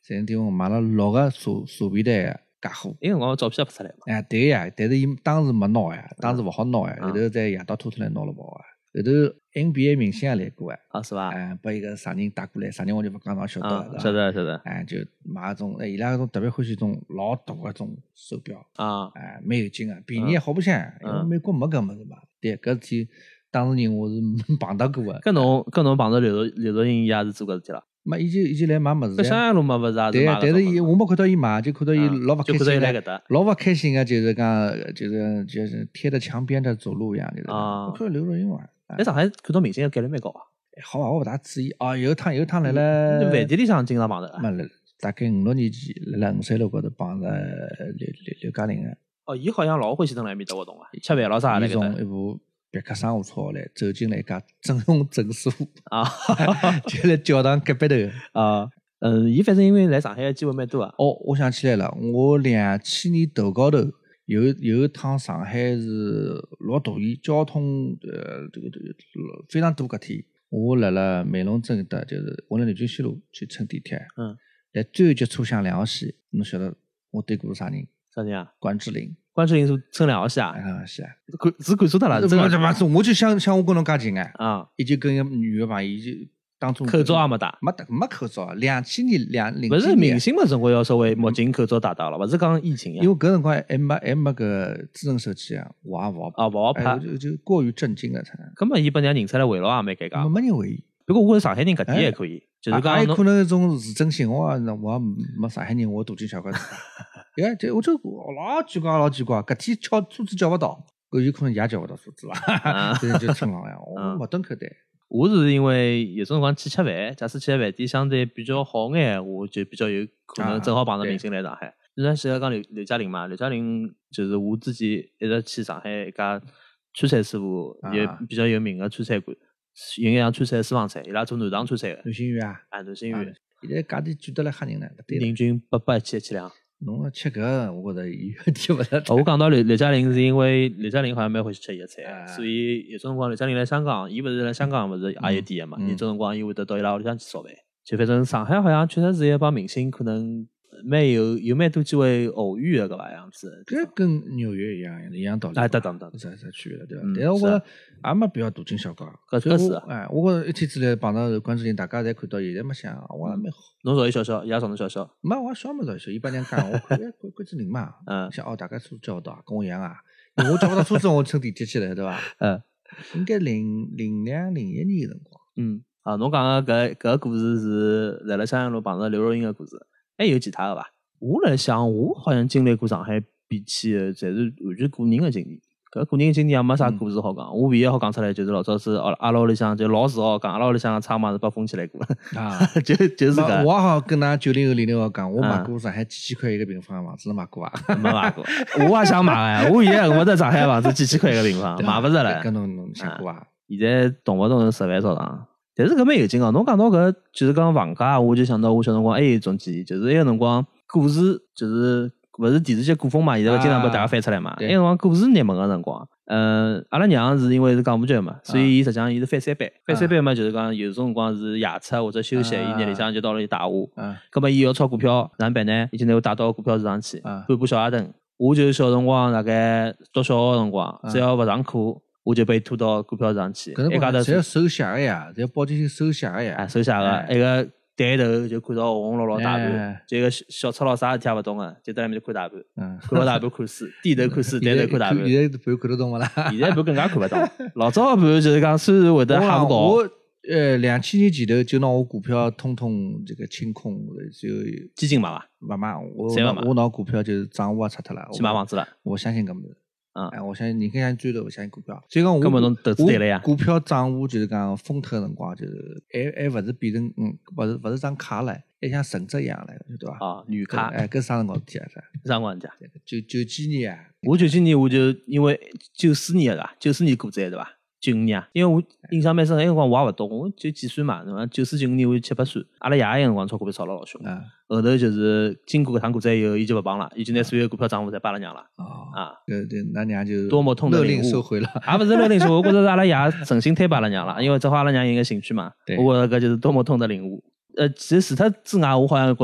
在那地方买了六个茶茶皮蛋个假货。 那辰光照片也拍出来嘛。 哎，对呀，但是伊当时没拿呀，当时勿好拿呀，后头在夜到拖出来拿了跑啊。后头 N B A 明星也来过啊， 啊是伐？ 哎，把一个啥人带过来，啥人我就勿讲侬晓得了， 晓得晓得。 哎，就买那种，哎，伊拉那种特别欢喜种老大个种手表啊， 哎，蛮有劲个，便宜也好白相，因为美国没搿物事嘛。对，搿事体当事人我是碰到过个。 搿侬搿侬碰到刘刘若英伊也是做搿事体了？ 没，伊就伊就来买物事。 搿襄阳路嘛勿是也是对， 买但是伊我没看到伊买，就看到伊老勿开心个，老勿开心个，就是讲就是就是贴着墙边的走路一样，就是。啊。我看刘若英嘛。 在上海看到明星个概率蛮高啊。 好伐，我勿大注意哦。有一趟有一趟来了， 饭店里向经常碰着。 没了，大概五六年前来了五三路高头碰着刘刘刘嘉玲个。 哦，伊好像老欢喜蹲辣埃面搭活动啊，吃饭老啥来搿搭。 伊从一部别克商务车来走进来一家整容诊所啊， 就来教堂隔壁头啊。嗯，伊反正因为来上海个机会蛮多啊。 哦，我想起来了，我两千年头高头。有有一趟上海是老大雨，交通呃这个这个非常堵。搿天我辣辣美龙镇的，就是我辣南京西路去乘地铁，嗯，在最后一节车厢两号线，侬晓得我对过是啥人？ 啥人啊？ 关之琳。 关之琳是乘两号线啊？ 两号线啊？ 看是看错脱了， 真的怎么？我就想想我跟侬介近哎， 啊， 伊就跟一个女的朋友就。 口罩也没戴， 没戴没口罩。两千年两零不是明星嘛，总归要稍微墨镜、口罩戴戴了，不是讲疫情呀。 因为搿辰光还没还没个智能手机啊，我也勿好啊，勿好拍， 就就过于震惊了才。 根本伊把人家认出来围绕也蛮尴尬。 没人围伊。 不过我是上海人，搿点还可以，就是讲还可能一种是真心话，我没上海人，我大惊小怪。哎，这我就老奇怪老奇怪，搿天叫车子叫勿到，搿有可能也叫勿到车子伐？就就冲浪呀，我没蹲口袋。 我是因为有种辰光去吃饭，假使去个饭店相对比较好眼，我就比较有可能正好碰到明星来上海。你看，现在讲刘刘嘉玲嘛，刘嘉玲就是我之前一直去上海一家川菜师傅，也比较有名的川菜馆，有眼像川菜私房菜，伊拉做南唐川菜的。 南新园啊， 啊，南新园。 现在价钿贵得来吓人了， 人均八百一千一千两。 侬吃搿，我觉着有点勿得。 我讲到刘刘嘉玲是因为刘嘉玲好像蛮欢喜吃伊个菜，所以有种辰光刘嘉玲来香港，伊勿是来香港勿是也有店个嘛，有种辰光伊会得到伊拉屋里向去烧饭。就反正上海好像确实是一帮明星，可能蛮有有蛮多机会偶遇个搿个样子。 搿跟纽约一样一样道理。 哎，对对对， 是是区别了，对伐？但是我觉着也没必要大惊小怪。 搿搿是哎，我觉着一天之内碰到关之琳，大家侪看到，现在没想，我也蛮好。 侬找伊笑笑，伊也找侬笑笑。 没，我笑没找伊笑，伊把人家讲，我看哎关关之琳嘛，嗯，想哦，大家车子叫勿到，跟我一样啊。我叫勿到车子，我乘地铁去了，对伐？嗯，应该零零两零一年个辰光。 嗯，啊，侬讲个搿搿个故事是辣辣襄阳路碰到刘若英个故事，还有其他个伐？我来想，我好像经历过上海变迁个，侪是完全个人个经历。搿个人经历也没啥故事好讲，我唯一好讲出来就是老早子阿拉屋里向就老自豪讲，阿拉屋里向个仓嘛是被封起来过啊，就就是搿。 我好跟㑚九零后、零零后讲，我买过上海几千块一个平方个房子，侬买过伐？ 没买过，我也想买哎，我现在我在上海房子几千块一个平方，买勿着了。 搿侬侬想过伐？ 现在动勿动十万朝上，但是搿蛮有劲哦。侬讲到搿就是讲房价，我就想到我小辰光还有一种记忆，就是埃个辰光股市就是勿是电视剧古风嘛，现在经常被大家翻出来嘛。埃个辰光股市热门个辰光。嗯，阿拉娘是因为是港务局嘛，所以伊实际上伊是翻三班，翻三班嘛，就是讲有种辰光是夜出或者休息，伊日里向就到了打我。嗯，葛末伊要炒股票，哪能办呢？伊就拿我带到股票市场去，搬部小矮凳。我就小辰光大概读小学个辰光，只要勿上课，我就被拖到股票市场去。 搿辰光侪要手写个呀，侪要报进去手写个呀。 啊，手写个，一个抬头就看到红红绿绿大盘，就一个小赤佬啥事体也勿懂个，就在那面看大盘，看牢大盘看书，低头看书，抬头看大盘。 现在盘看得懂勿啦？ 现在盘更加看勿懂。老早盘就是讲，虽然会得吓勿高。 我呃两千年前头就拿我股票通通这个清空，就基金买伐？ 勿买，我我拿股票就是账户也拆脱了， 去买房子了。 我相信搿物事。 嗯， 哎，我相信人更相追头，我相信股票。所以讲我， 根本侬投资对了呀。 股票账户就是讲封脱个辰光，就是还还勿是变成嗯，勿是勿是张卡唻，还像存折一样唻，对伐？ 啊，女卡。 哎，搿啥辰光事体啊？啥？ 啥辰光事体啊？ 九九几年啊？ 我九几年我就因为九四年个对伐？九四年股灾对伐？九五年啊，因为我印象蛮深，那辰光我也勿懂，我就几岁嘛，对伐？九四九五年我就七八岁，阿拉爷那辰光炒股票炒了老凶，嗯、后头就是经过搿趟股灾以后，伊就勿帮了，伊就拿所有股票账户侪拨阿拉娘了。哦、啊， 对对，那娘就多么痛的领悟， 收回了， 也勿是勒令收回，我觉着是阿拉爷诚心推拨阿拉娘了，因为正好阿拉娘有个兴趣嘛，我觉着搿就是多么痛的领悟。呃，其实除脱之外，我好像觉着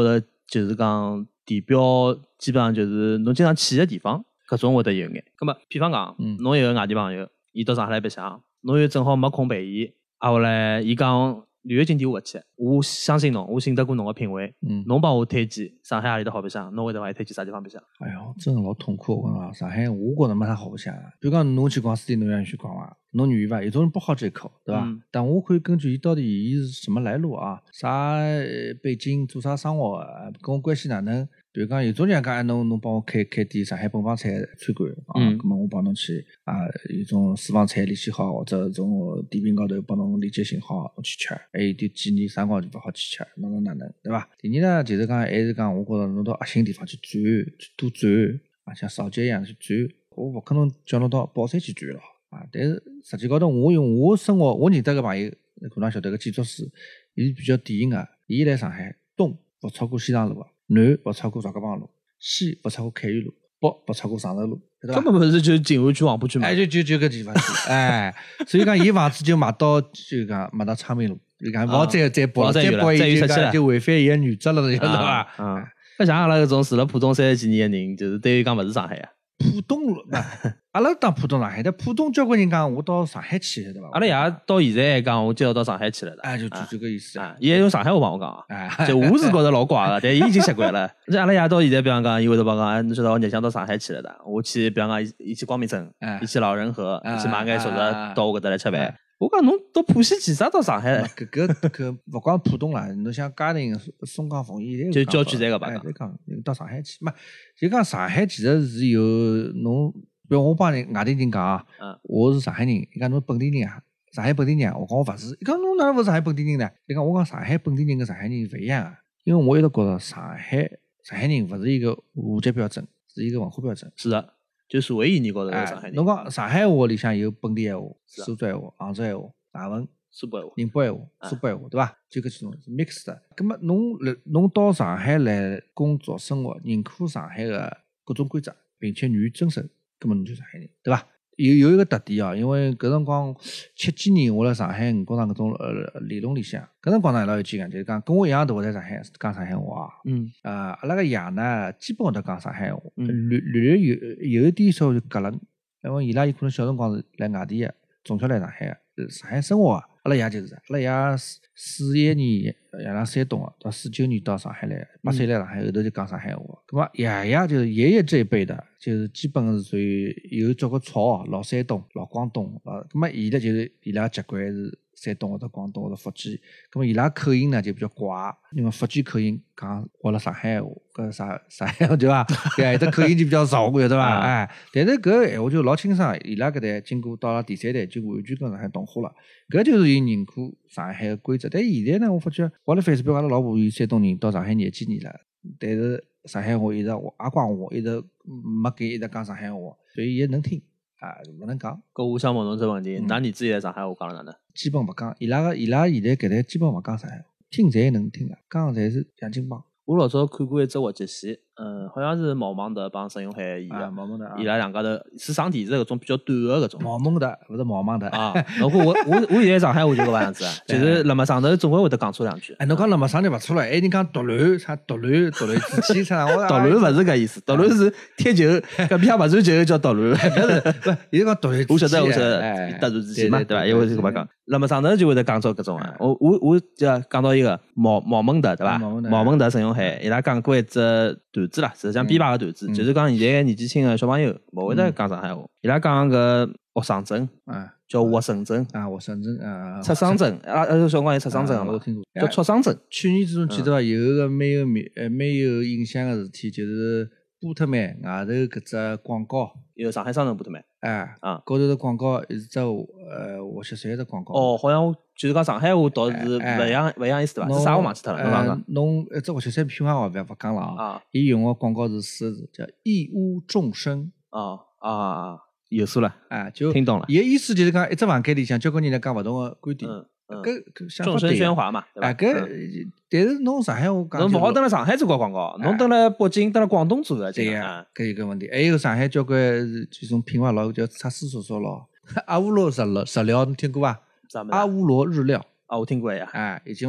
就是讲地标基本上就是侬经常去的地方，搿种会得有眼。葛末譬方讲， 嗯侬有个外地朋友，伊到上海来白相，侬又正好没空陪伊，啊后来伊讲旅游景点我勿去，我相信侬，我信得过侬个品味， 嗯， 侬帮我推荐上海何里搭好白相，侬会得帮伊推荐啥地方白相？ 哎哟，真的老痛苦。我讲上海，我觉着没啥好白相的。比如讲，侬去逛书店，侬愿意去逛伐？侬愿意伐？有种人不好这口，对伐？ 嗯但我可以根据伊到底伊是什么来路啊，啥呃背景，做啥生活啊，跟我关系哪能？比如讲，有种人讲，哎，侬侬帮我开开点上海本帮菜餐馆啊， 嗯咁么我帮侬去啊，有种私房菜联系好，或者种点评高头帮侬链接信好，侬去吃。还有点建议啥辰光就勿好去吃，哪能哪能，对伐？第二呢，就是讲还是讲，我觉着侬到核心地方去转，去多转啊，像扫街一样去转。我勿可能叫侬到宝山去转咯啊！但是实际高头，我用我生活，我认得个朋友，可能晓得个建筑师，伊是比较典型个。伊来上海，东勿超过西塘路个，南勿超过赵家浜路，西勿超过凯源路，北勿超过常熟路，对伐？ 根本勿是就静安区、黄浦区嘛。 哎，就就就搿地方去，哎，所以讲伊房子就卖到就讲卖到昌平路，你看，勿好再再报了，再报伊就讲就违反伊个原则了，晓得伐？ 啊，搿像阿拉搿种住了浦东三十几年个人，就是对于讲勿是上海啊。 浦东路，阿拉当浦东上海，但浦东交关人讲我到上海去，对伐？ 阿拉爷到现在还讲我就要到上海去了的。 哎，就就这个意思啊。伊还用上海话帮我讲啊。 哎， 就我是觉得老怪个，但伊已经习惯了。而且阿拉爷到现在，比方讲，伊会得帮讲，哎，侬晓得我日想到上海去了的，我去，比方讲，伊去光明镇，伊去老人河，伊去买眼熟食到我搿搭来吃饭。我讲侬到浦西去啥到上海？ 搿个搿勿光浦东啦，侬像嘉定、松江、奉贤， 就郊区侪个吧？ 哎，再讲到上海去，没就讲上海其实是有侬，比如我帮人外地人讲啊，我是上海人，伊讲侬本地人啊，上海本地人啊，我讲我勿是，伊讲侬哪能勿是上海本地人呢？伊讲我讲上海本地人跟上海人勿一样啊，因为我一直觉着上海上海人勿是一个户籍标准，是一个文化标准。 是的。就社会意义高头，上海人。 侬讲上海话里向有本地闲话、苏州闲话、杭州闲话、大文、 苏北话、 宁波闲话、苏北闲话，对伐？就搿几种是 mix 的。葛末侬来侬到上海来工作生活，认可上海个各种规则，并且愿意遵守，葛末侬就上海人，对伐？有有一个特点啊，因为搿辰光七几年我辣上海五角场搿种呃理论里向，搿辰光呢老有劲个，就是讲跟我一样大在上海讲上海话啊。 嗯。 啊，阿拉个爷呢，基本会得讲上海话，略略略有有一点稍微隔冷，因为伊拉有可能小辰光是来外地个，从小来上海个，上海生活个。阿拉爷就是，阿拉爷四四一年爷娘山东个，到四九年到上海来，八岁来上海后头就讲上海话。咁么爷爷就是爷爷这一辈的，就是基本是属于有交关潮，老山东、老广东啊。咁么伊拉就是伊拉籍贯是山东或者广东或者福建，咁么伊拉口音呢就比较怪，因为福建口音讲学了上海话，搿啥啥对伐？对，这口音就比较潮，对伐？哎，但是搿闲话就老清爽，伊拉搿代经过到了第三代就完全跟上海同化了，搿就是伊认可上海个规则。但现在呢，我发觉我辣 Facebook 阿拉老婆伊山东人到上海廿几年了，但是上海话一直我也讲我一直没给一直讲上海话，所以也能听啊，勿能讲。 搿我想问侬只问题，㑚儿子现在上海话讲了哪能？ 基本勿讲，伊拉个伊拉现在搿代基本勿讲上海话，听侪能听个，讲侪是洋泾浜。 我老早看过一只滑稽戏，嗯，好像是毛孟德帮沈永海演的， 毛孟德， 伊拉两家头是上电视搿种比较短个搿种。 毛孟德勿是毛孟德啊！侬看我我我现在上海话就搿个样子，就是辣么上头总归会得讲错两句。 哎，侬讲辣么上头勿错了，还人讲独卵啥独卵独卵之气啥？我独卵勿是搿意思，独卵是踢球，搿边勿传球叫独卵。 勿是，勿，伊是讲独卵。 我晓得，我晓得，突然之间嘛，对伐？因为是搿么讲，辣么上头就会得讲错搿种啊。我我我就讲到一个毛毛孟德，对伐？毛孟德、沈永海，伊拉讲过一只段子啦，实际上编排个段子，就是讲现在年纪轻个小朋友勿会得讲上海话，伊拉讲个学生证，啊，叫活生证啊，活生证啊， 出生证，啊，呃，小辰光有出生证嘛， 我听过， 叫出生证。 去年之中记得伐？有一个蛮有名，呃，蛮有印象个事体，就是波特曼外头搿只广告， 有上海商城波特曼， 哎， 啊， 高头的广告是只呃滑雪山的广告。 哦，好像就是讲上海话倒是勿一样，勿一样意思对伐？是啥我忘记脱了，侬讲讲。 侬一只滑雪山品牌话勿勿讲了啊，伊用个广告是四个字，叫一屋众生。 哦啊啊，有数了， 哎，就听懂了。 伊个意思就是讲，一只房间里向交关人来讲勿同个观点。搿搿众生喧哗嘛，对伐？ 哎，搿但是侬上海话讲， 侬勿好蹲辣上海做过广告，侬蹲辣北京、蹲辣广东做个， 对呀，搿有个问题。还有上海交关这种品牌老叫擦丝索索咯，阿乌罗日料，日料侬听过伐？ 啥物事？ 阿乌罗日料啊，我听过呀。 哎，有劲伐？ 搿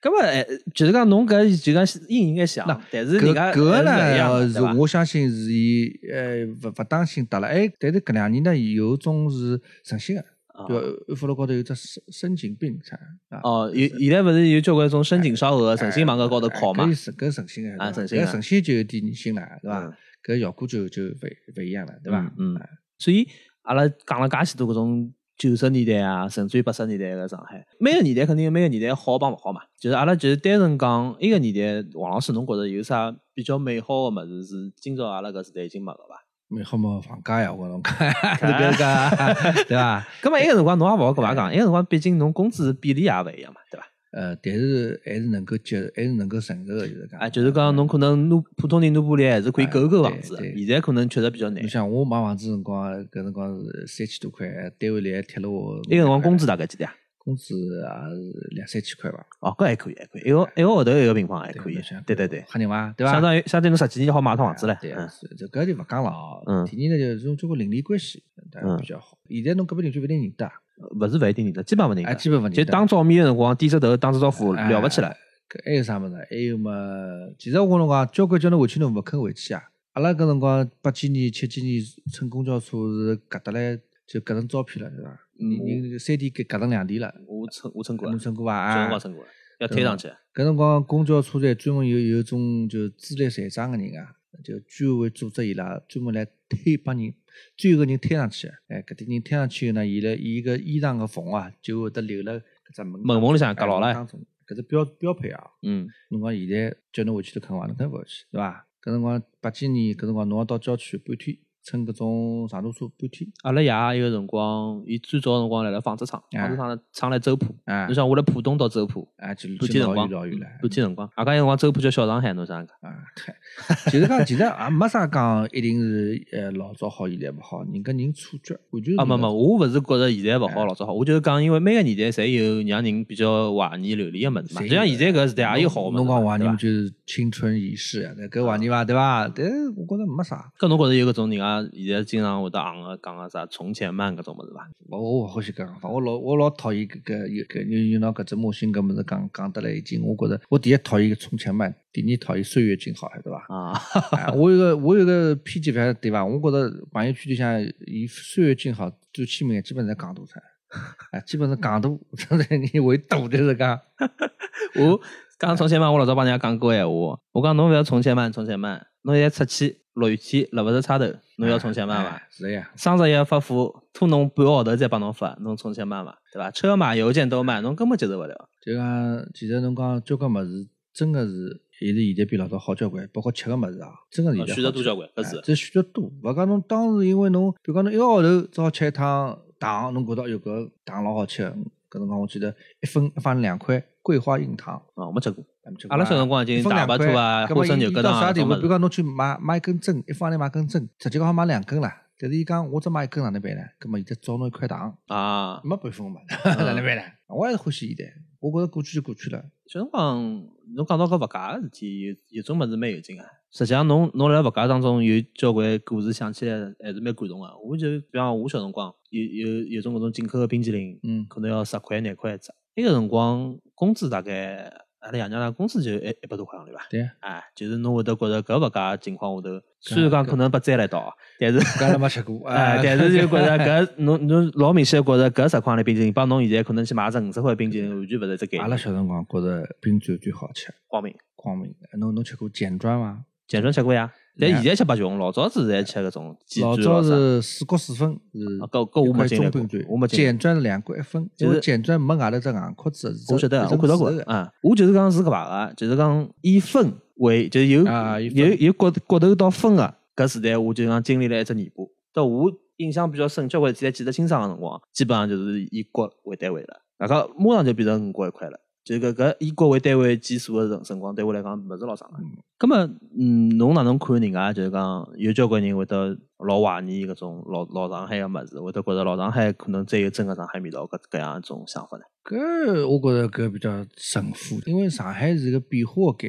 咁么哎，就是讲侬搿就讲应应该想，但是人家搿个呢是我相信是伊呃勿勿当心得了，哎，但是搿两年呢有种是诚心个。对，安福路高头有只深深井病啥啊？ 哦，有现在勿是有交关种深井烧鹅、诚心往搿高头靠嘛？ 搿是搿诚心个， 啊，诚心， 搿诚心就有点人性了，对伐？搿效果就就勿勿一样了，对伐？ 嗯，所以阿拉讲了介许多搿种九十年代啊，甚至于八十年代个上海，每个年代肯定有每个年代好帮勿好嘛。就是阿拉就是单纯讲一个年代，王老师侬觉着有啥比较美好个物事是今朝阿拉搿时代已经没个伐？ 美好嘛，房价呀，我侬讲，搿个对伐？ 咁么埃个辰光侬也勿好搿伐讲，埃个辰光毕竟侬工资比例也勿一样嘛，对伐？ 呃，但是还是能够接，还是能够承受个，就是讲。 啊，就是讲侬可能拿普通人拿玻璃还是可以购购房子，现在可能确实比较难。 你像我买房子辰光，搿辰光是三千多块，单位里还贴了我。 埃个辰光工资大概几钿啊？ 工资也是两三千块吧。 哦，搿还可以，还可以。一个一个号头一个平方还可以。对对对， 吓人伐？对伐？ 相当于相当于侬十几年好买套房子了。 对，是这搿就勿讲了哦。 嗯。 第二呢，就是种交关邻里关系，嗯，比较好。现在侬搿边邻居勿一定认得。 勿是勿一定认得，基本勿认得。 基本勿认得。 就打照面个辰光，点只头，打只招呼，了勿起来。 搿还有啥物事？还有嘛？其实我跟侬讲，交关叫侬回去侬勿肯回去啊。阿拉搿辰光八几年、七几年乘公交车是夹得来就夹成照片了，对伐？人人三 D 给夹成两 D 了。 我乘我乘过， 侬乘过伐？ 小辰光乘过，要推上去。 搿辰光公交车站专门有有种就资历残障个人啊，就居委会组织伊拉专门来推帮人，最后个人推上去。哎，搿点人推上去呢，伊拉伊个衣裳个缝啊，就会得留了搿只门门缝里向夹牢了。 搿是标标配啊。 嗯。 侬讲现在叫侬回去都肯伐？侬肯勿回去，对伐？搿辰光八几年，搿辰光侬要到郊区半天。乘搿种长途车半天。 阿拉爷有个辰光，伊最早个辰光来了纺织厂，纺织厂厂来周浦。侬想我辣浦东到周浦， 啊，就半天辰光， 老远了。 半天辰光，阿搿辰光周浦叫小上海，侬啥讲？ 啊，就是讲，其实也没啥讲，一定是呃老早好，现在勿好，人跟人错觉，完全是。 啊，没没，我勿是觉着现在勿好，老早好，我就是讲，因为每个年代侪有让人比较怀念流连个物事嘛。就像现在搿时代也有好个物事。 侬讲怀念就是青春已逝啊，搿怀念伐，对伐？但是我觉着没啥。 搿侬觉着有搿种人啊，现在经常会得行个讲个啥从前慢搿种物事伐？ 我我勿欢喜搿讲法，我老我老讨厌搿个有搿有有拿搿只模型搿物事讲讲得来已经，我觉着我第一讨厌个从前慢，第二讨厌岁月静好，对伐？啊，我有个我有个偏见法，对伐？我觉着朋友圈里向以岁月静好最起名，基本上港大出来，啊，基本上港大，真的你为大就是讲， 我讲从前慢，我老早帮人家讲过闲话，我讲侬勿要从前慢，从前慢，侬现在出去。落雨天辣勿着差头，侬要从前慢伐？ 是呀。 双十一发货拖侬半个号头再帮侬发，侬从前慢伐？对伐？车马邮件都慢，侬根本接受勿了。 就讲，其实侬讲交关物事，真个是还是现在比老早好交关，包括吃个物事啊，真个现在选择多交关，搿是。 这选择多，勿讲侬当时因为侬，比如讲侬一个号头只好吃一趟糖，侬觉得哟搿糖老好吃，搿辰光我记得一分一分两块桂花硬糖啊，我没吃过。阿拉小辰光已经大白兔啊、花生油搿到啥地步？ 比如讲侬去买买一根针，一方钿买根针，实际讲好买两根啦。但是伊讲我只买一根哪能办呢？葛末现在找侬一块糖啊， 没办法嘛，哪能办呢？我还是欢喜现在，我觉着过去就过去了。 小辰光侬讲到搿物价个事体，有有种物事蛮有劲个。实际上侬侬辣物价当中有交关故事，想起来还是蛮感动个。我就比方我小辰光有有有种搿种进口个冰淇淋，嗯，可能要十块廿块一只。那个辰光工资大概。阿拉爷娘拉工资就一一百多块行钿伐？ 对， 哎，就是侬会得觉着搿物价情况下头，虽然讲可能被摘了一刀，但是搿还没吃过， 哎，但是就觉着搿侬侬老明显觉着搿十块钿冰淇淋，帮侬现在可能去买只五十块冰淇淋，完全勿是一只概念。 阿拉小辰光觉着冰钻最好吃， 光明， 光明，侬侬吃过碱砖伐？ 碱砖吃过呀，但现在吃白熊，老早子侪吃搿种鸡老早是四角四分是， 搿搿我没经历过，我没经历。 碱砖是两角一分，就是碱砖没外头只硬壳子， 我晓得，我看到过啊。我就是讲是搿排个，就是讲以分为，就是有有有角角头到分个搿时代，我就讲经历了一只尾巴。到我印象比较深，交关现在记得清爽个辰光，基本上就是以角为单位了，然后马上就变成五角一块了。就搿搿以角为单位计数个辰光，对我来讲勿是老长个。咁么，嗯，侬哪能看人家？就是讲有交关人会得老怀念搿种老老上海个物事，会得觉着老上海可能再有真个上海味道，搿搿样一种想法呢？ 搿我觉着搿比较神乎，因为上海是个变化个概念。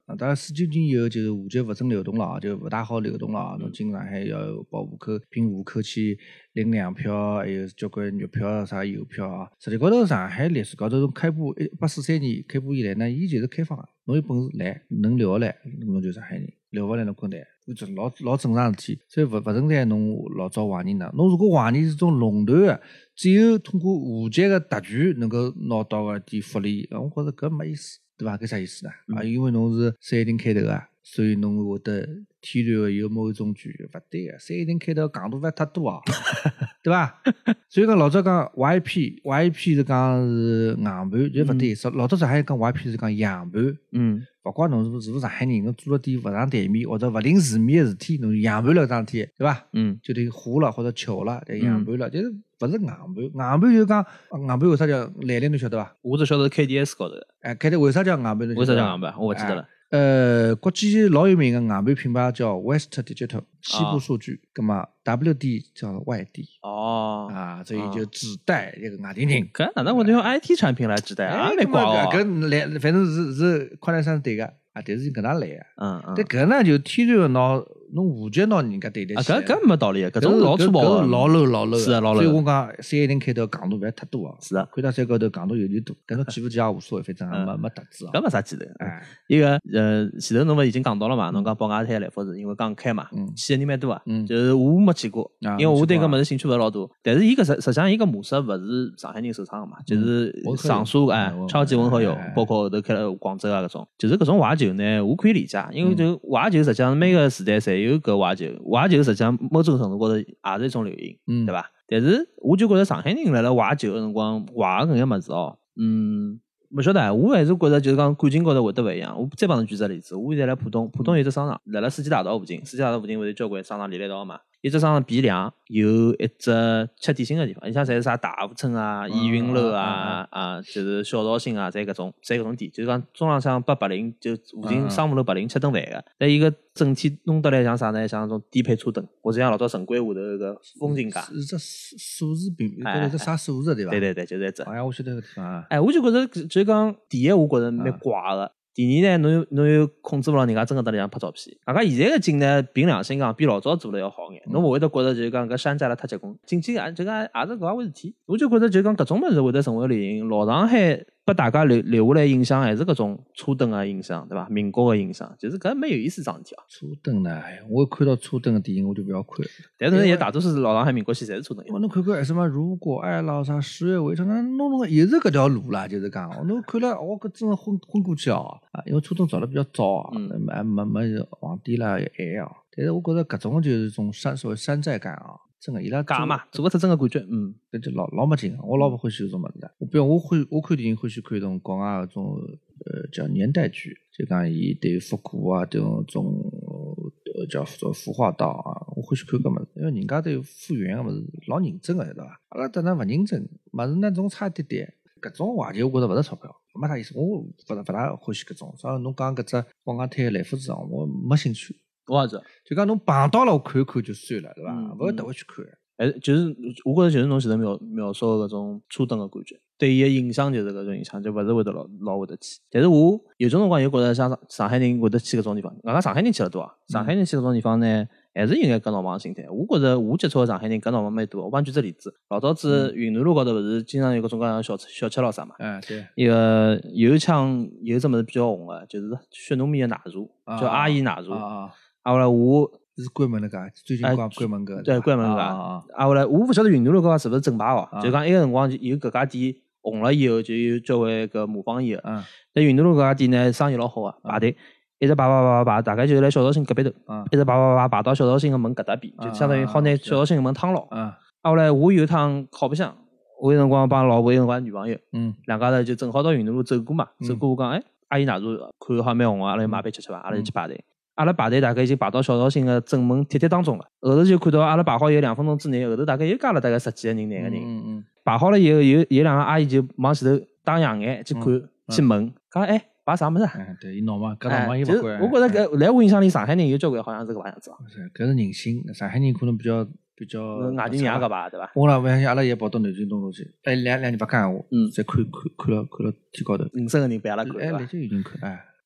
啊，当然四九年以后就是户籍勿准流动了啊，就勿大好流动了啊。侬进上海要报户口，凭户口去领粮票，还有交关月票啥邮票啊。实际高头上海历史高头从开埠一八四三年开埠以来呢，伊就是开放个，侬有本事来，能留下来，侬就上海人。留勿来侬滚蛋，这老老正常事体，所以勿勿存在侬老早怀疑呢。侬如果怀疑是种垄断个，只有通过户籍个特权能够拿到个点福利，我觉着搿没意思，对伐？搿啥意思呢？啊，因为侬是三一零开头个，所以侬会得天然个有某种权，勿对个，三一零开头戆大勿太多啊，对伐？所以讲老早讲 Y P，Y P 是讲是硬盘，就勿对，嗯、老早上海讲 Y P 是讲洋盘， 嗯。 勿怪侬是勿是勿上海人，侬做了点勿上台面或者勿领世面个事体，侬洋盘了桩事体，对伐？ 嗯， 就得花了或者巧了，对洋盘了，但是勿是硬盘，硬盘就讲硬盘为啥叫来历侬晓得伐？ 我只晓得 K D S 高头的。 哎，开头为啥叫硬盘？为啥叫硬盘？我勿记得了。 哎呃，国际老有名个硬盘品牌叫 West Digital 西部数据，葛末 W D 叫外地。 哦， 啊，所以就只带这个外地人。 搿哪能会用 I T 产品来指代啊？没怪哦。 搿来反正是是宽带山是对个啊，但是搿能来个。 嗯嗯。 但搿呢就天然个拿侬户籍拿人家对得起。 啊，搿搿没道理，搿种老粗暴个， 老 low 老 low。 是啊，老 low。 所以我讲三一零开头戆大勿要太多啊。 是啊。 看到山高头戆大有点多，搿侬记勿记也无所谓，反正没没特质啊。 搿没啥记得。 哎。 一个呃，前头侬勿已经讲到了嘛？侬讲宝雅滩来福士，因为刚开嘛，去个人蛮多啊。嗯。就是我没去过，因为我对搿物事兴趣勿是老多。但是伊搿实实际上伊搿模式勿是上海人首创个嘛，就是上述哎超级文和友，包括后头开了广州啊搿种，就是搿种怀旧呢，我可以理解，因为就怀旧实际上每个时代侪有搿怀旧。怀旧实际上某种程度高头也是一种流行，嗯、对伐？但是我就觉得上海人辣辣怀旧个辰光怀个搿眼物事哦，嗯，勿晓得，我还是觉得就是讲感情高头会得勿一样。我再帮侬举只例子，我现在辣浦东，浦东有只商场，辣辣世纪大道附近，世纪大道附近勿是交关商场连辣一道嘛？一只商场 B 两有一只吃点心个地方，你像侪是啥大福村啊、逸云楼啊、啊，就是小绍兴啊，侪搿种，侪搿种店，就是讲中浪向八八零就附近商务楼八零吃顿饭个。但伊个整体弄得来像啥呢？像那种低配车灯，或者像老早城关下头个风景街。是只数字品，高头只啥数字对伐？对对对，就是一只。哎呀，我晓得搿地方。哎，我就觉着就是讲，第一我觉着蛮怪个。第二呢，侬又侬又控制勿牢人家真个到里向拍照片。大家现在个景呢，凭良心讲，比老早做了要好眼。侬勿会得觉着就是讲搿山寨了太结棍，进去也就讲也是搿回事体。我就觉着就讲搿种物事会得成为流行。老上海拨大家留留下来印象还是搿种车灯个印象，对伐？民国个印象，就是搿蛮有意思桩事体哦。车灯呢，我看到车灯个电影我就勿要看。但是也大多数是老上海民国戏侪是车灯。侬看看什么如果爱老啥十月围城，那弄弄又是搿条路啦，就是讲，侬看了我搿真昏昏过去哦。啊，因为车灯造得比较早啊，嗯，没没没皇帝啦也晚啊。但是我觉着搿种就是种山所谓山寨感啊。真个伊拉假嘛，做个出真个感觉，嗯，搿就老老没劲个。我老勿欢喜搿种物事的。我比如我欢我看电影欢喜看种国外搿种呃叫年代剧，就讲伊对复古啊，对种呃叫做服化道啊，我欢喜看搿物事，因为人家对复原个物事老认真个，对伐？阿拉等那勿认真，物事呢总差一点点。搿种话题我觉着勿值钞票，没啥意思。我勿勿大欢喜搿种。所以侬讲搿只宝雅滩来福士场，我没兴趣。我也是，就讲侬碰到了我看一看就算了，对伐？勿要特回去看。哎，就是我觉着就是侬前头描描述搿种车灯个感觉，对伊个影响就是搿种影响，就勿是会得老老会得去。但是我有种辰光又觉着像上海人会得去搿种地方，外加上海人去了多啊。上海人去搿种地方呢，还是有眼跟闹忙心态。我觉着我接触个上海人跟闹忙蛮多。我帮举只例子，老早子云南路高头勿是经常有搿种各样小小吃咾啥嘛？哎，对。一个有腔有只物事比较红个，就是血糯米个奶茶，叫阿姨奶茶。啊。啊，后来我是关门了个，最近关关门个，对，关门个。啊，后来我勿晓得云南路搿个是勿是正牌哦，就讲埃个辰光有搿家店红了以后，就有交关搿模仿伊个。嗯。但云南路搿家店呢，生意老好个，排队一直排排排排，大概就辣小绍兴隔壁头，一直排排排排到小绍兴个门搿搭边，就相当于好拿小绍兴个门趟牢。嗯。啊，后来我有一趟靠白相，我有辰光帮老婆，有辰光女朋友，嗯，两家头就正好到云南路走过嘛，走过我讲，哎，阿姨奶茶看好蛮红个，阿拉就买杯吃吃伐，阿拉就去排队。阿拉排队大概已经排到小绍兴个正门铁铁当中了，后头就看到阿拉排好有两分钟之内，后头大概又加了大概十几个人、廿个人。嗯嗯。排好了以后，有有两个阿姨就往前头打烊眼去看、去问，讲哎排啥物事啊？嗯，对，伊闹嘛，搿闹嘛伊勿管。我觉着搿来我印象里，上海人有交关好像是搿个样子哦。是，搿是人性。上海人可能比较比较。外地人也搿排对伐？我啦，勿相信阿拉也跑到南京东路去，哎两两年勿讲闲话，嗯，再看看看了看了天高头。五十个人陪阿拉看，哎，来就有人看，哎。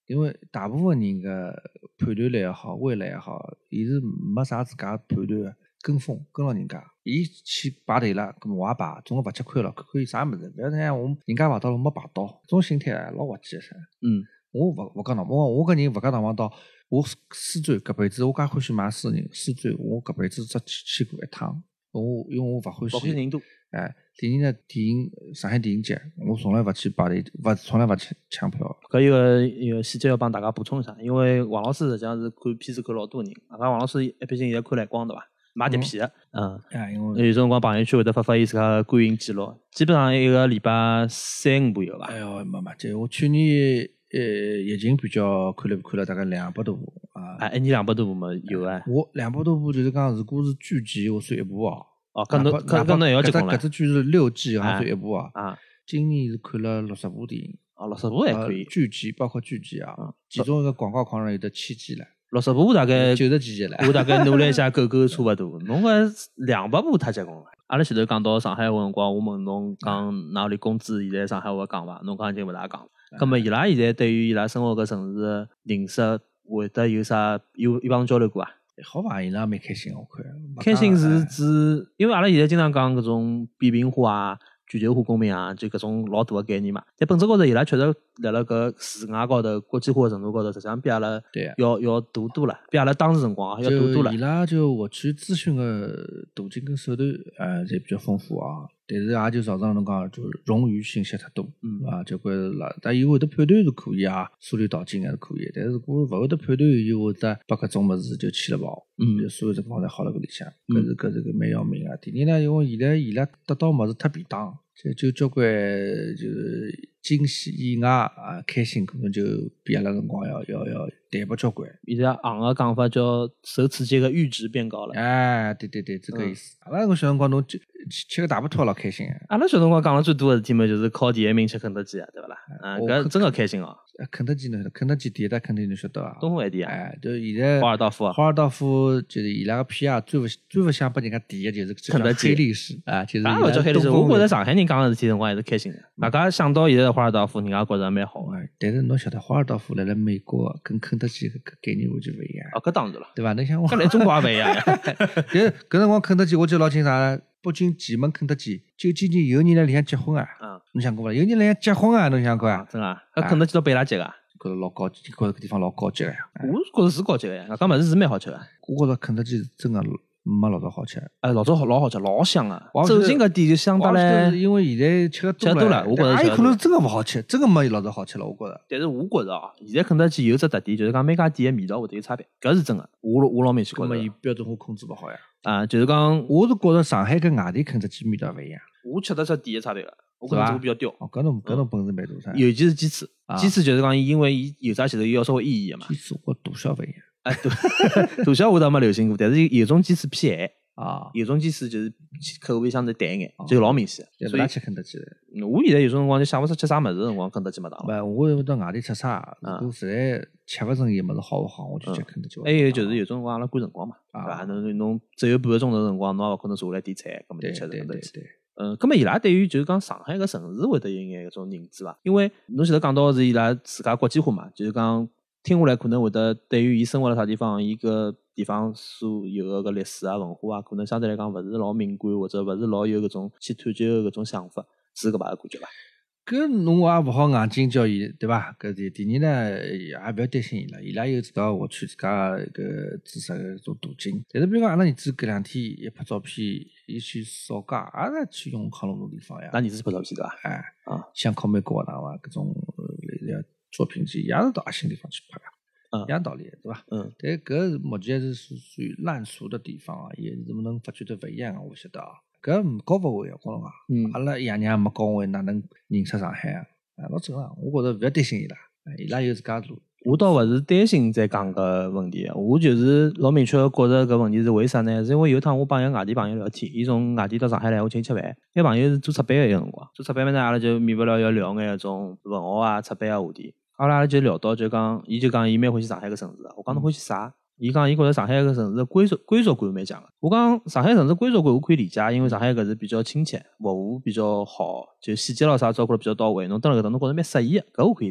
因为大部分人个判断力也好，未来也好，伊是没啥自家判断个，跟风跟牢人家。伊去排队了，搿么我也排，总归勿吃亏了，看看有啥物事。勿要像我人家排到了，我没排到，这种心态老滑稽个噻。 嗯， 我勿勿讲喏，我我搿人勿讲堂堂到，我书展搿辈子我介欢喜买书个人，书展我搿辈子只去去过一趟。我因为我勿欢喜， 勿欢喜人多。 哎，第二呢，电影上海电影节，我从来勿去排队，勿从来勿去抢票。 搿有个有个细节要帮大家补充一下，因为王老师实际上是看片子看老多人，外加王老师一毕竟现在看蓝光对伐？买碟片个，嗯， 哎，因为有辰光朋友圈会得发发伊自家个观影记录，基本上一个礼拜三五部有伐？ 哎哟，没没，就我去年呃疫情比较看了看了大概两百多部啊。 哎，一年两百多部嘛有哎。 我两百多部就是讲，如果是剧集，我算一部哦。 哦，搿侬搿搿侬也要结棍了。 搿只剧是六季，好像算一部啊。 啊， 今年是看了六十部电影。 哦，六十部还可以。 剧集包括剧集啊，其中一个广告狂人有得七集了。 六十部大概九十几集了。 我大概努力一下，狗狗差勿多。侬搿两百部太结棍了。阿拉前头讲到上海话辰光，我问侬讲哪里工资现在上海话讲伐？侬讲已经勿大讲了。葛末伊拉现在对于伊拉生活搿城市的认识，会得有啥有有帮侬交流过啊？ 好吧，伊拉蛮开心，我看。 开心是指，因为阿拉现在经常讲搿种扁平化啊、全球化公民啊，就搿种老大个概念嘛。但本质高头，伊拉确实辣辣搿世外高头、国际化的程度高头，实际上比阿拉要要大多了，比阿拉当时辰光要大多了。 伊拉就获取资讯个途径跟手段，呃，侪比较丰富啊。但是也就造成侬讲，就冗余信息太多，嗯啊，就觉着啦，但伊会得判断是可以啊，疏离导进还是可以，但是如果勿会得判断，伊会得把搿种物事就起了跑，嗯，所有情况侪好辣搿里向，搿是搿是个蛮要命啊。第二呢，因为现在伊拉得到物事太便当，就就交关就是惊喜意外啊，开心可能就比阿拉辰光要要要淡薄交关。 现在行个讲法叫首次这个阈值变高了。 哎，对对对，这个意思。阿拉搿小辰光侬吃吃个大巴托老开心啊！ 阿拉小辰光讲了最多个事体嘛，就是靠第一名吃肯德基啊，对勿啦？啊，搿真个开心哦。 肯德基侬晓得，肯德基第一家肯德基侬晓得伐？ 东风饭店啊。 哎，就现在华尔道夫啊。 华尔道夫就是伊拉个 P R 最勿最勿想拨人家提个就是肯德基黑历史啊，就是啊，勿叫黑历史。我觉着上海人讲个事体辰光还是开心个。大家想到现在华尔道夫，人家觉着蛮好个。 但是侬晓得，华尔道夫辣辣美国跟肯德基搿概念完全勿一样。 哦，搿当然了， 对伐？侬想我， 搿来中国也勿一样。 但是搿辰光肯德基，我记得老清爽。北京前门肯德基，就今年有人辣里向结婚啊！嗯，侬想过伐？有人辣里向结婚啊！侬想过啊？ 真啊！搿肯德基到贝拉吉个， 觉着老高级，觉着搿地方老高级个呀。 我觉着是高级个呀，搿物事是蛮好吃个。 我觉着肯德基真个没老早好吃。 哎，老早好老好吃，老香啊！走进搿店就香得来。 因为现在吃个多了，我觉着。 也有可能是真个勿好吃，真个没老早好吃了，我觉着。 但是我觉着啊，现在肯德基有只特点，就是讲每家店个味道会得有差别，搿是真个。我我老明显觉着。 搿么伊标准化控制勿好呀。 啊，就是讲， 我是觉着上海跟外地肯德基味道勿一样。 我吃得出店个差别个，我觉着这个比较刁。 哦，搿侬搿侬本事蛮大噻。 尤其是鸡翅，鸡翅就是讲，因为伊油炸前头要稍微腌腌个嘛。 鸡翅我大小勿一样。 哎，对，大小我倒没流行过，但是有种鸡翅偏咸。 啊， 有种鸡翅就是口味相对淡一眼，就老明显。 所以吃肯德基的。 我现在有种辰光就想勿出吃啥物事的辰光，肯德基没打了。 勿，我到外地吃啥，如果实在吃勿成伊物事好勿好，我就吃肯德基。 还有就是有种辰光阿拉赶辰光嘛，对伐？侬侬只有半个钟头辰光，侬也勿可能坐下来点菜，搿么就吃肯德基。嗯，搿么伊拉对于就是讲上海搿城市会得有眼搿种认知伐？因为侬前头讲到是伊拉自家国际化嘛，就是讲听下来可能会得对于伊生活辣啥地方，伊个地方所有个搿历史啊、文化啊，可能相对来讲勿是老敏感，或者勿是老有搿种去探究搿种想法，是搿把个感觉伐？ 搿侬也勿好硬劲叫伊，对伐？搿第第二呢，也勿要担心伊拉，伊拉有自家获取自家搿知识个搿种途径。但是比如讲，阿拉儿子搿两天一拍照片，伊去扫街，也是去永康路搿地方呀。 那儿子拍照片对伐？ 哎，啊，想考美国学堂伐？搿种类似作品集，也是到阿新地方去拍个。 嗯， 一样道理，对伐？嗯，但搿目前是属属于烂熟的地方啊，也是能发觉得勿一样啊，我晓得啊。搿教勿会啊，我讲啊，嗯，阿拉爷娘没教会，哪能认识上海啊？啊，老正常，我觉着勿要担心伊拉，伊拉有自家路。 我倒勿是担心在讲搿问题，我就是老明确个觉着搿问题是为啥呢？是因为有一趟我帮一个外地朋友聊天，伊从外地到上海来，我请伊吃饭。那朋友是做出版个一个辰光，做出版嘛呢，阿拉就免勿了要聊眼搿种文学啊、出版个话题。阿拉就聊到就讲，伊就讲伊蛮欢喜上海个城市个，我讲侬欢喜啥？伊讲伊觉着上海个城市归属归属感蛮强个。我讲上海城市归属感我可以理解，因为上海搿是比较亲切，服务比较好，就细节咾啥照顾得比较到位。侬蹲辣搿搭侬觉着蛮适意个，搿我可以理解。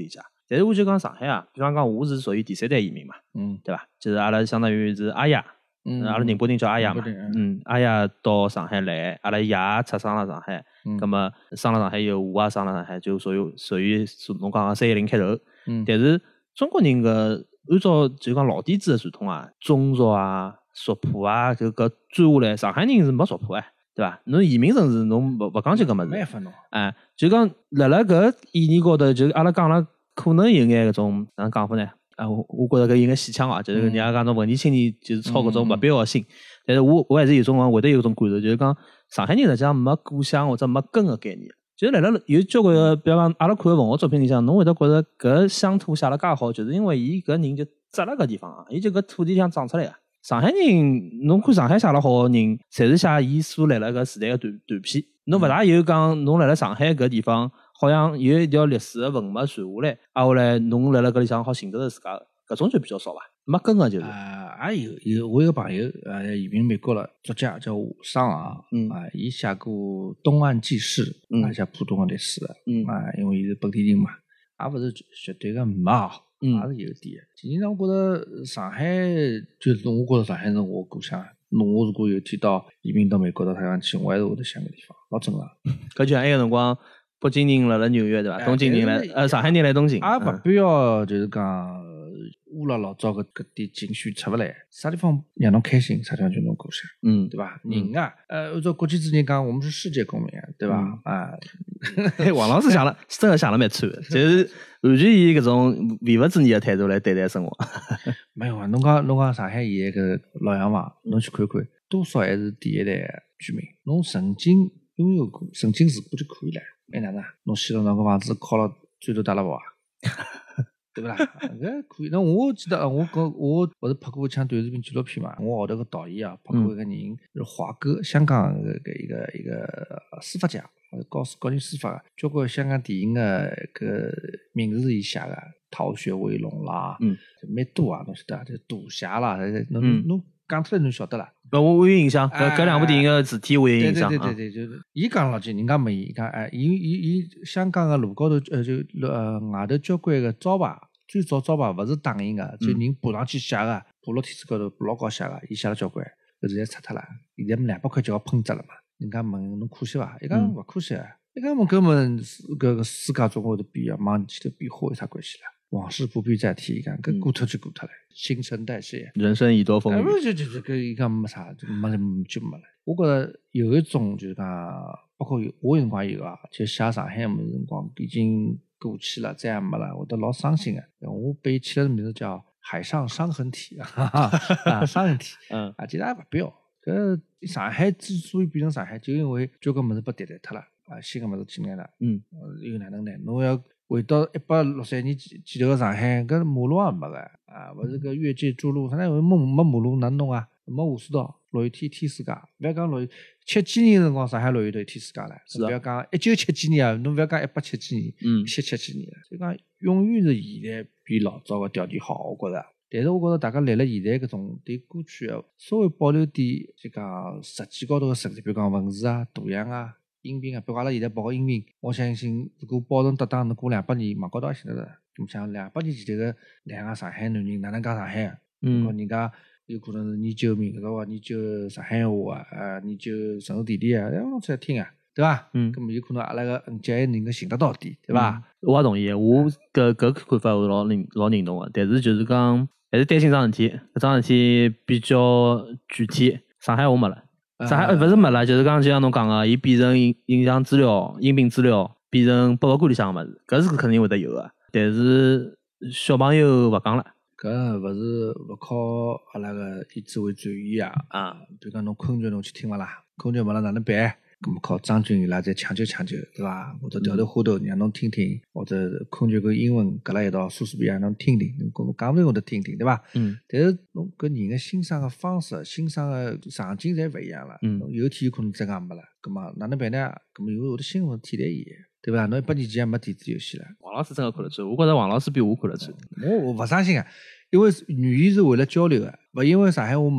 但是我就讲上海啊，比方讲我是属于第三代移民嘛， 嗯， 对伐？就是阿拉相当于是阿爷， 嗯， 阿拉宁波人叫阿爷嘛，嗯，阿爷到上海来，阿拉爷出生了上海，葛么生了上海以后，我也生了上海，就属于属于侬讲个三一零开头。嗯，但是中国人个按照就讲老底子个传统啊，宗族啊、族谱啊，就搿转下来，上海人是没族谱哎。对伐？侬移民城市侬勿勿讲究搿物事，哎，就讲辣辣搿意义高头，就阿拉讲了，可能有眼搿种哪能讲法呢？啊，我我觉着搿有眼戏腔啊，就是人家讲种文艺青年就是操搿种勿必要个心。但是我我还是有种辰光会得有种感受，就是讲上海人实际上没故乡或者没根个概念。就是辣辣有交关个，比方讲阿拉看个文学作品里向，侬会得觉着搿乡土写了介好，就是因为伊搿人就扎辣搿地方啊，伊就搿土地上长出来个。上海人，侬看上海写了好个人，侪是写伊所来了搿时代个断断片。侬勿大有讲侬辣辣上海搿地方，好像有一条历史个文脉传下来，啊后来侬辣辣搿里向好寻得着自家，搿种就比较少伐？没根个就是。 啊，也有有，我有个朋友，呃，移民美国了，作家叫吴尚啊，嗯啊，伊写过《东岸纪事》，嗯，写浦东个历史的，嗯啊，因为伊是本地人嘛，也勿是绝对个没好。嗯，也是有点的。其实上，我觉着上海就是我觉着上海是我故乡。侬我如果有天到移民到美国到太阳去，我还是会得想个地方，老正常。 搿就像埃个辰光，北京人辣辣纽约对伐？东京人来呃上海人来东京， 也勿必要就是讲乌了老早搿搿点情绪出勿来，啥地方让侬开心，啥地方就侬故乡，嗯，对伐？人啊，呃，按照国际之间讲，我们是世界公民，对伐？啊， 王老师想了，真的想了蛮穿的，就是完全以搿种唯物主义的态度来对待生活。 没有啊，侬讲侬讲上海现在搿老洋房，侬去看看，多少还是第一代居民，侬曾经拥有过，曾经住过就可以了。哎哪能？侬希望侬个房子靠了砖头搭了跑啊？对不啦？搿可以。那我记得，我讲我勿是拍过一腔短视频纪录片嘛？我号头个导演啊，拍过一个人是华哥，香港个一个一个司法家，搞搞人司法个，交关香港电影个搿名字伊写个，《逃学威龙》啦，嗯，蛮多啊，侬晓得，就赌侠啦，侬侬讲出来侬晓得啦。 我我有印象，搿搿两部电影个字体我有印象。 对对对对，就是伊讲老句，人家问伊讲，哎，伊伊伊香港个路高头呃就呃外头交关个招牌，最早招牌勿是打印个，就人爬上去写个，爬落天子高头爬老高写个，伊写了交关，搿现在拆脱了，现在两百块就要喷只了嘛。人家问侬可惜伐？伊讲勿可惜啊，伊讲问搿么搿个世界总会得变啊，往前头变化有啥关系啦？往事不必再提，伊讲搿过脱就过脱了，新陈代谢， 人生已多风雨。 就就就搿伊讲没啥，就没就没了。我觉着有一种就是讲，包括有我有辰光有啊，就写上海么辰光已经过去了，再也没了，我都老伤心个。我被起了个名字叫海上伤痕体啊，伤痕体，嗯啊，其实也勿必要。搿上海之所以变成上海，就因为交关物事被迭代脱了啊，新个物事进来了，嗯，又哪能呢？侬要回到一百六十年前前头个上海，搿马路也没个啊，勿是搿越界筑路，啥呢？没没马路哪能弄啊？没下水道，落雨天天世界，勿要讲落雨，七几年辰光上海落雨都天世界了，勿要讲一九七几年啊，侬勿要讲一八七几年，嗯，七七几年了，所以讲永远是现在比老早个条件好，我觉着。但是我觉着大家来了现在搿种对过去个稍微保留点，就讲实际高头个设计，比如讲文字啊、图像啊。音频啊，比如阿拉现在报个音频，我相信如果保存得当，侬过两百年网高头也寻得着。侬想两百年前头个两个上海男人哪能讲上海啊？嗯，人家有可能是研究闽南话、研究上海话啊，啊，研究城市地理啊，让我出来听啊，对伐？嗯，咁么有可能阿拉个嗯节还能够寻得到点，对伐？ 嗯、我也同意，我搿搿看法我老认老认同个，但是就是讲还是担心桩事体，搿桩事体比较具体，上海话没了。上海勿是没了，就是讲就像侬讲个，伊变成影影像资料、音频资料，变成博物馆里向个物事，搿是肯定会得有个。但是小朋友勿讲了， 搿勿是勿靠阿拉个以智慧转移啊啊！比如讲侬昆曲侬去听勿啦？昆曲没了哪能办？咁么靠张军伊拉再抢救抢救，对伐？或者调头花头让侬听听，或者昆曲跟英文搁辣一道，莎士比亚侬听听，侬讲讲勿定会得听听，对伐？嗯。但是侬搿人个欣赏个方式、欣赏个场景侪勿一样了。嗯。有天有可能真个没了，咁么哪能办呢？咁么有会得新个替代伊，对伐？侬一百年前也没电子游戏了。 王老师真个看得出，我觉着王老师比我看得出。 我我勿相信啊，因为语言是为了交流个，勿因为上海话没了。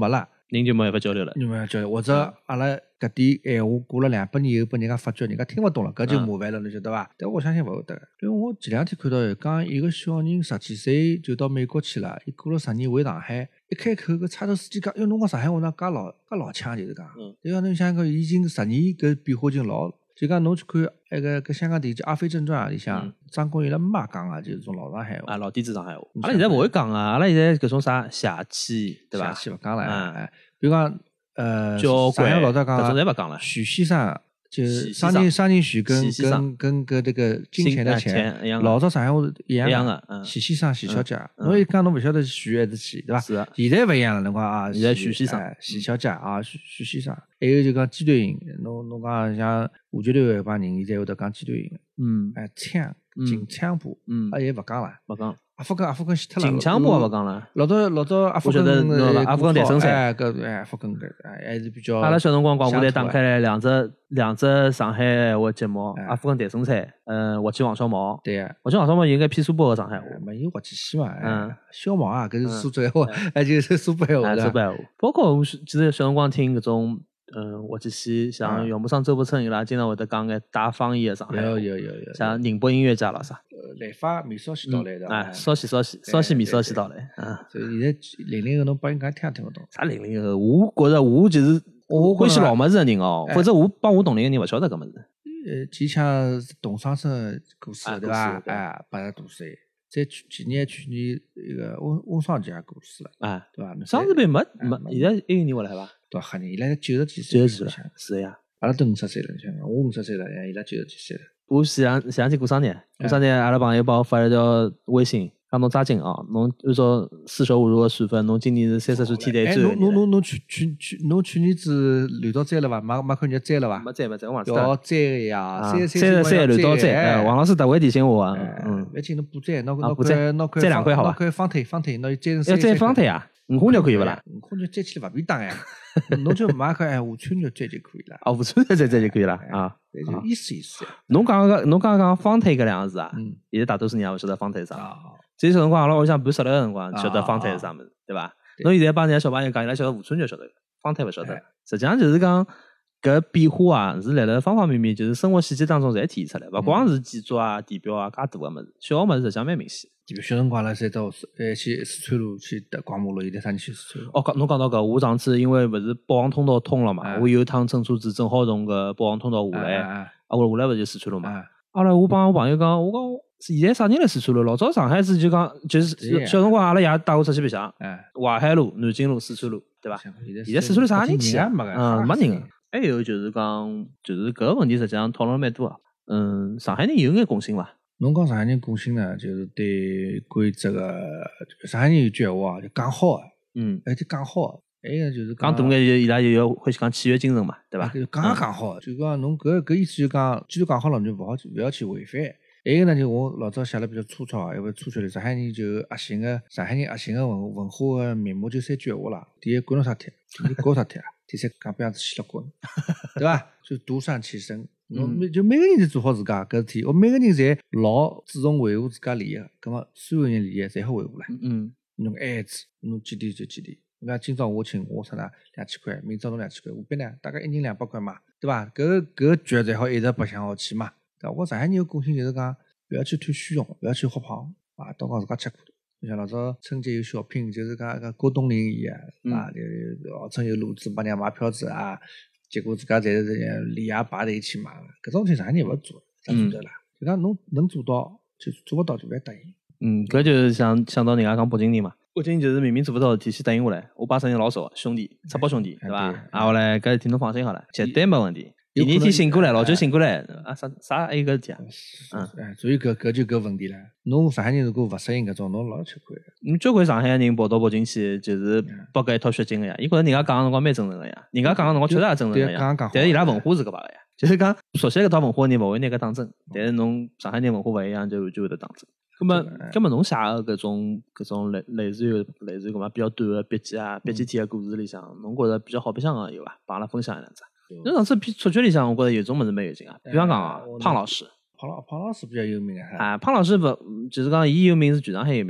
人就没办法交流了。 你们交流，或者阿拉搿点闲话过了两百年以后，拨人家发觉人家听勿懂了，搿就麻烦了，侬晓得伐？但我相信勿会得，因为我前两天看到讲一个小人十几岁就到美国去了，伊过了十年回上海，一开口搿差头司机讲，哟，侬讲上海话哪介老介老腔，就是讲，对伐？侬想讲已经十年搿变化已经老。就讲侬去看那个搿香港电视剧《阿飞正传》里向，张国荣伊拉没讲啊，就是种老上海话啊，老底子上海话。阿拉现在勿会讲啊，阿拉现在搿种啥邪气，对伐？ 邪气勿讲了，哎，比如讲呃， 交关上海老早讲搿种侪勿讲了。 许先生就商人商人许跟跟跟搿这个金钱的钱，老早上海话一样一样的。 许先生、许小姐，侬一讲侬勿晓得是许还是许，对伐？ 是。 现在勿一样了，侬讲啊， 现在许先生、 许小姐啊，许许先生。还有就讲鸡腿音，侬侬讲像华剧团有一帮人，现在会得讲鸡腿音。 嗯。 哎，腔、京腔部， 嗯， 啊也勿讲了， 勿讲。 阿福根阿福根死脱了。 京腔部也勿讲了。 老早老早阿福根阿福根诞生赛， 哎搿哎阿福根搿还是比较。 阿拉小辰光广播台打开来两只两只上海话节目，阿福根诞生赛，嗯，滑稽王小毛。 对呀。 滑稽王小毛应该偏苏北个上海话。 没有滑稽戏嘛，嗯，小毛啊，搿是苏州话，哎就是苏北话的。 苏北话。包括我记得小辰光听搿种。嗯，滑稽戏像姚木生、周伯称伊拉经常会得讲眼带方言的上海话， 有有有有， 像宁波音乐家咾啥， 呃，来发米烧西到来的， 哎，烧西烧西烧西米烧西到来，嗯， 所以现在零零后侬帮人家听也听勿懂。 啥零零后？我觉着我就是我欢喜老么子的人哦，否则我帮我同龄的人勿晓得搿么子。 呃，前腔董尚生过世对伐？哎，八十多岁。在去去年去年一个温温双杰也过世了， 啊， 对伐？ 双子辈没没，现在一有人回来伐？ 多吓人，伊拉九十几岁， 九十几了，是呀。 阿拉都五十岁了，你想想，我五十岁了，伊拉九十几岁了。 我前两前两天过生日，过生日阿拉朋友帮我发了条微信，讲侬抓紧哦，侬按照四舍五入的算法，侬今年是三十岁天台最后。 哎，侬侬侬侬去去去，侬去年子绿道摘了伐？马马看人家摘了伐？ 没摘没摘，我忘记了。要摘个呀， 三三十三绿道摘，王老师特为提醒我啊。嗯， 勿紧，侬补摘，拿拿块拿块摘两块好吧？ 拿块方腿方腿，拿摘成。 要摘方腿啊？五花肉可以勿啦？ 五花肉摘起来勿便当呀，侬就买块哎五川肉摘就可以了。 哦，五川肉摘摘就可以了啊。 就意思意思。 侬讲个侬刚刚讲方腿搿两个字啊，现在大多数人也勿晓得方腿是啥。这辰光阿拉屋里向办十六个辰光，晓得方腿是啥物事，对伐？侬现在帮人家小朋友讲，伊拉晓得五川肉晓得，方腿勿晓得。实际上就是讲搿变化啊，是辣辣方方面面，就是生活细节当中侪体现出来，勿光是建筑啊、地标啊介大个物事，小个物事实际上蛮明显。 地标小辰光阿拉侪到呃去四川路去逛马路，现在啥人去四川路？ 哦，讲侬讲到搿，我上次因为勿是宝王通道通了嘛，我有一趟乘车子正好从搿宝王通道下来，啊，我下来勿就四川路嘛。后来我帮我朋友讲，我讲现在啥人来四川路？老早上海市就讲就是小辰光阿拉爷带我出去白相，淮海路、南京路、四川路，对伐？现在四川路啥人去啊？嗯，没人。还有就是讲，就是搿个问题实际上讨论蛮多啊。嗯，上海人有眼共性伐？ 侬讲上海人共性呢，就是对关于这个上海人有句闲话啊，就讲好个， 嗯， 而且讲好，还有就是讲大眼就伊拉就要欢喜讲契约精神嘛，对伐？ 就讲也讲好，就讲侬搿搿意思就讲，既然讲好了，侬就勿好勿要去违反。还有呢，就我老早写了比较粗糙，因为粗糙的上海人就核心个上海人核心个文文化个面目就三句闲话啦。第一，管侬啥体；第二，搞啥体啊；第三，讲不样子死了滚，对伐？就独善其身。侬每就每个人侪做好自家搿事体，我每个人侪老注重维护自家利益，葛末所有人利益侪好维护唻。 嗯， 侬爱子，侬几点就几点。侬讲今朝我请我出呢两千块，明朝侬两千块，何必呢？大概一人两百块嘛，对伐？搿搿局侪好一直白相下去嘛。对伐？我上海人有共性就是讲，不要去贪虚荣，不要去喝胖啊，都讲自家吃苦头。就像老早春节有小品，就是讲个郭冬临一样啊，就号称有路子帮人家买票子啊，结果自家侪是连夜排队去买，搿种事上海人勿做，咋做得啦？就讲侬能做到，就做勿到就勿要答应。 嗯，搿就是想想到人家讲北京人嘛，北京就是明明做勿到事体，先答应下来，我把生意老熟，兄弟，赤膊兄弟，对伐？啊，后来搿事体侬放心好了，绝对没问题。第二天醒过来，老酒醒过来，啊啥啥还有搿事体啊？ 嗯，哎，所以搿搿就搿问题了。侬上海人如果勿适应搿种，侬老吃亏个。 侬交关上海人跑到北京去，就是拨搿一套血劲个呀。伊觉着人家讲个辰光蛮真诚个呀，人家讲个辰光确实也真诚个呀。但是伊拉文化是搿把个呀，就是讲熟悉搿套文化个人勿会拿搿当真。但是侬上海人文化勿一样，就就会得当真。咁么，咁么侬写个搿种搿种类类似于类似于搿么比较短个笔记啊、笔记体个故事里向，侬觉着比较好白相个有伐？帮阿拉分享一两只。侬上次出剧里向，我觉着有种物事蛮有劲啊。比方讲啊，胖老师， 胖老胖老师比较有名啊。 啊，胖老师勿就是讲伊有名是全上海有名。我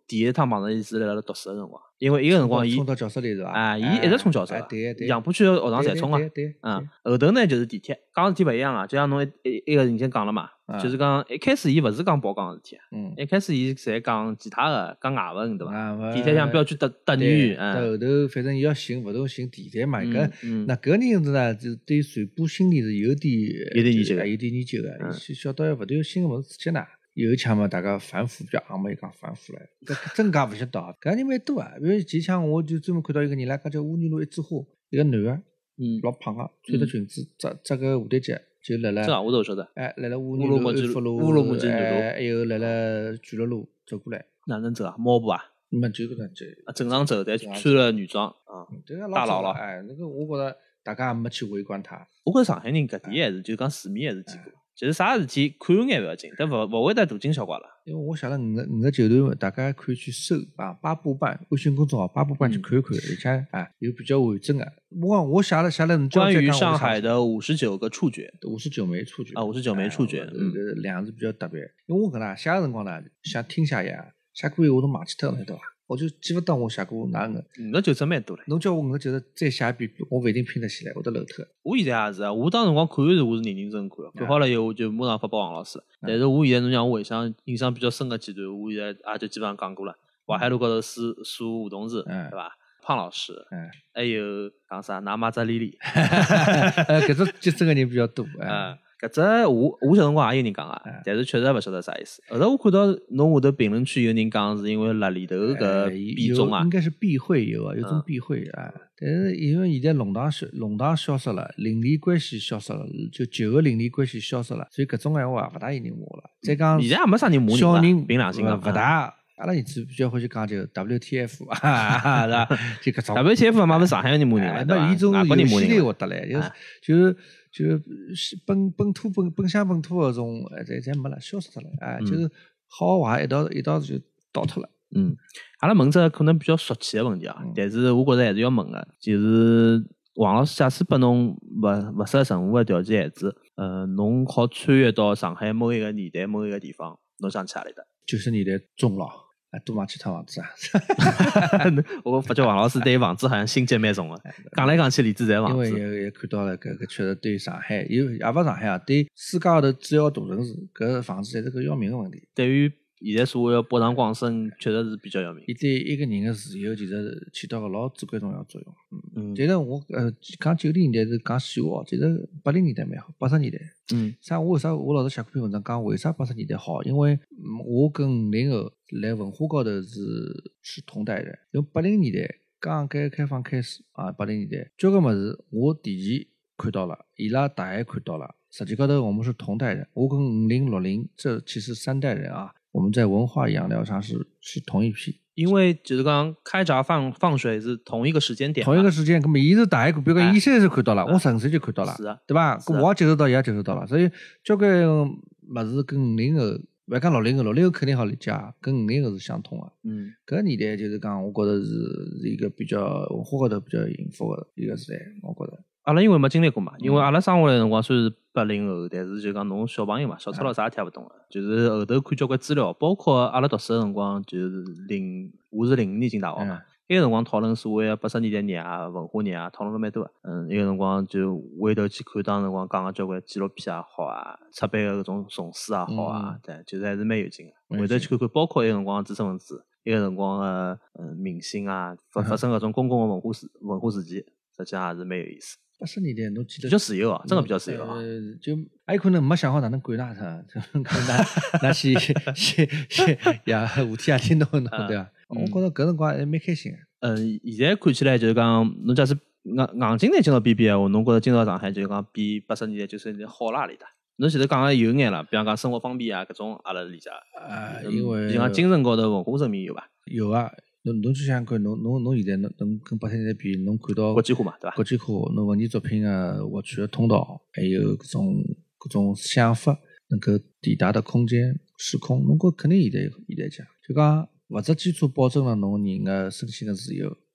第一趟碰着伊是辣辣读书个辰光，因为伊个辰光伊冲到教室里是伐？ 啊，伊一直冲教室哎，对对， 杨浦区个学堂侪冲啊。 对对对， 嗯，后头呢就是地铁，讲事体勿一样啊，就像侬一一一个已经讲了嘛，就是讲一开始伊勿是讲报讲个事体， 嗯， 一开始伊侪讲其他个，讲外文对伐？地铁像像标区特特女，嗯， 到后头反正伊要寻勿同寻地铁嘛，搿嗯， 那搿人子呢，就对传播心理是有点有点研究， 有点研究个，晓得勿对新闻事体呢。有一枪嘛，大家反腐比较硬嘛，又讲反腐了，搿真假勿晓得，搿人蛮多啊。比如前枪我就专门看到一个人啦，搿叫乌泥路一枝花，一个男个， 嗯， 老胖个，穿着裙子，扎扎个蝴蝶结，就辣辣， 这我都晓得， 哎，辣辣乌泥路、安福路、 乌鲁木齐南路， 还有辣辣巨鹿路走过来。 哪能走啊？猫步啊？ 没就搿能走。 啊，正常走，但穿了女装啊，大佬了。 哎，那个我觉着大家也没去围观他。 我觉着上海人搿点还是就讲市面还是见过。就是啥事体看眼勿要紧，但勿勿会得大惊小怪了。 因为我写了五个五个九段，大家可以去搜啊，八步半微信公众号八步半去看一看，而且啊有比较完整的。我我写了写了， 关于上海的五十九个触觉， 五十九枚触觉啊，五十九枚触觉， 嗯，两字比较特别。因为我搿能写个辰光呢，想听写一样，写过以后我都忘记脱了，对伐？我就记勿得我写过哪个。 五个九字蛮多了。 侬叫我五个九字再写一遍，我勿一定拼得起来，会得漏脱。 我现在也是啊，我当辰光看是我是认认真真看，看好了以后我就马上发拨王老师。但是我现在侬让我回想印象比较深个几段，我现在也就基本上讲过了。淮海路高头数数梧桐树，对伐？胖老师，还有讲啥？拿马扎莉莉。 呃，搿只接生个人比较多啊。搿只我我小辰光也有人讲啊，但是确实勿晓得啥意思。后头我看到侬下头评论区有人讲是因为辣里头搿币种啊， 应该是避讳有啊，有种避讳啊。但是因为现在弄堂消弄堂消失了，邻里关系消失了，就旧个邻里关系消失了，所以搿种闲话也勿大有人骂了。再讲现在也没啥人骂人小人凭良心讲勿大。阿拉儿子比较欢喜讲就 W T F 啊，是吧？就搿种 W T F 嘛，勿是上海人骂人了，对伐？ 伊种游戏类活得来，就是就就本本土本本乡本土搿种，哎，侪侪没了，消失脱了，哎，就是好坏一道一道就倒脱了。 嗯，阿拉问只可能比较俗气的问题啊，但是我觉着还是要问个，就是王老师，假使拨侬勿勿设任何的条件限制，呃，侬好穿越到上海某一个年代某一个地方，侬想去哪里的？ 九十年代中了。多买几套房子啊！ 我发觉王老师对房子好像心结蛮重的，讲来讲去，里子侪房子。 因为也也看到了，搿搿确实对上海，有也勿上海啊，对世界高头主要大城市，搿房子侪是个要命个问题。 对于现在社会个北上广深，确实是比较要命。 伊对一个人个自由，其实起到个老至关重要作用。嗯，但是我呃讲九零年代是讲细话，其实八零年代蛮好，八十年代。 嗯， 啥？我为啥我老是写过篇文章讲为啥八十年代好？因为我跟五零后来文化高头是是同代人。因为八零年代刚改革开放开始啊，八零年代交关物事我提前看到了，伊拉大概看到了。实际高头我们是同代人，我跟五零六零这其实三代人啊，我们在文化养料上是是同一批。 因为就是讲开闸放放水是同一个时间点， 同一个时间，咁么伊是大概，比如讲伊三岁看到了，我十五岁就看到了， 是啊， 对吧？咁我也接受到，伊也接受到了，所以交关物事跟五零后，勿讲六零后，六零后肯定好理解，跟五零后是相通的。 嗯， 搿年代就是讲，我觉着是是一个比较文化高头比较幸福的一个时代，我觉着。 阿拉因为没经历过嘛，因为阿拉生下来辰光虽然是八零后，但是就讲侬小朋友嘛，小粗佬啥也听勿懂个，就是后头看交关资料，包括阿拉读书个辰光，就是零，我是零五年进大学嘛，埃个辰光讨论所谓个八十年代热啊、文化热啊，讨论了蛮多个。嗯，埃个辰光就回头去看当辰光讲个交关纪录片也好啊，出版个搿种丛书也好啊，对，就是还是蛮有劲个。回头去看看，包括埃个辰光知识分子，埃个辰光个嗯明星啊，发发生搿种公共个文化事文化事件，实际上也是蛮有意思。 八十年代侬记得比较自由啊，真的比较自由啊。 呃，就还有可能没想好哪能管他他，可能那些些些呀，五天夜天弄弄对伐？我觉着搿辰光还蛮开心个。 嗯，现在看起来就是讲，侬假使硬硬劲来今朝比比闲话，侬觉着今朝上海就是讲比八十年代九十年代好哪里搭？侬前头讲个有眼了，比方讲生活方便啊，搿种阿拉理解。 啊，因为就讲精神高头文化层面有伐？ 有啊。侬侬去想看，侬侬侬现在侬侬跟八十年代比，侬看到国际化嘛，对伐？ 国际化，侬文艺作品个获取个通道，还有搿种搿种想法能够抵达的空间时空，侬觉肯定现在现在讲，就讲物质基础保证了侬人个身心个自由，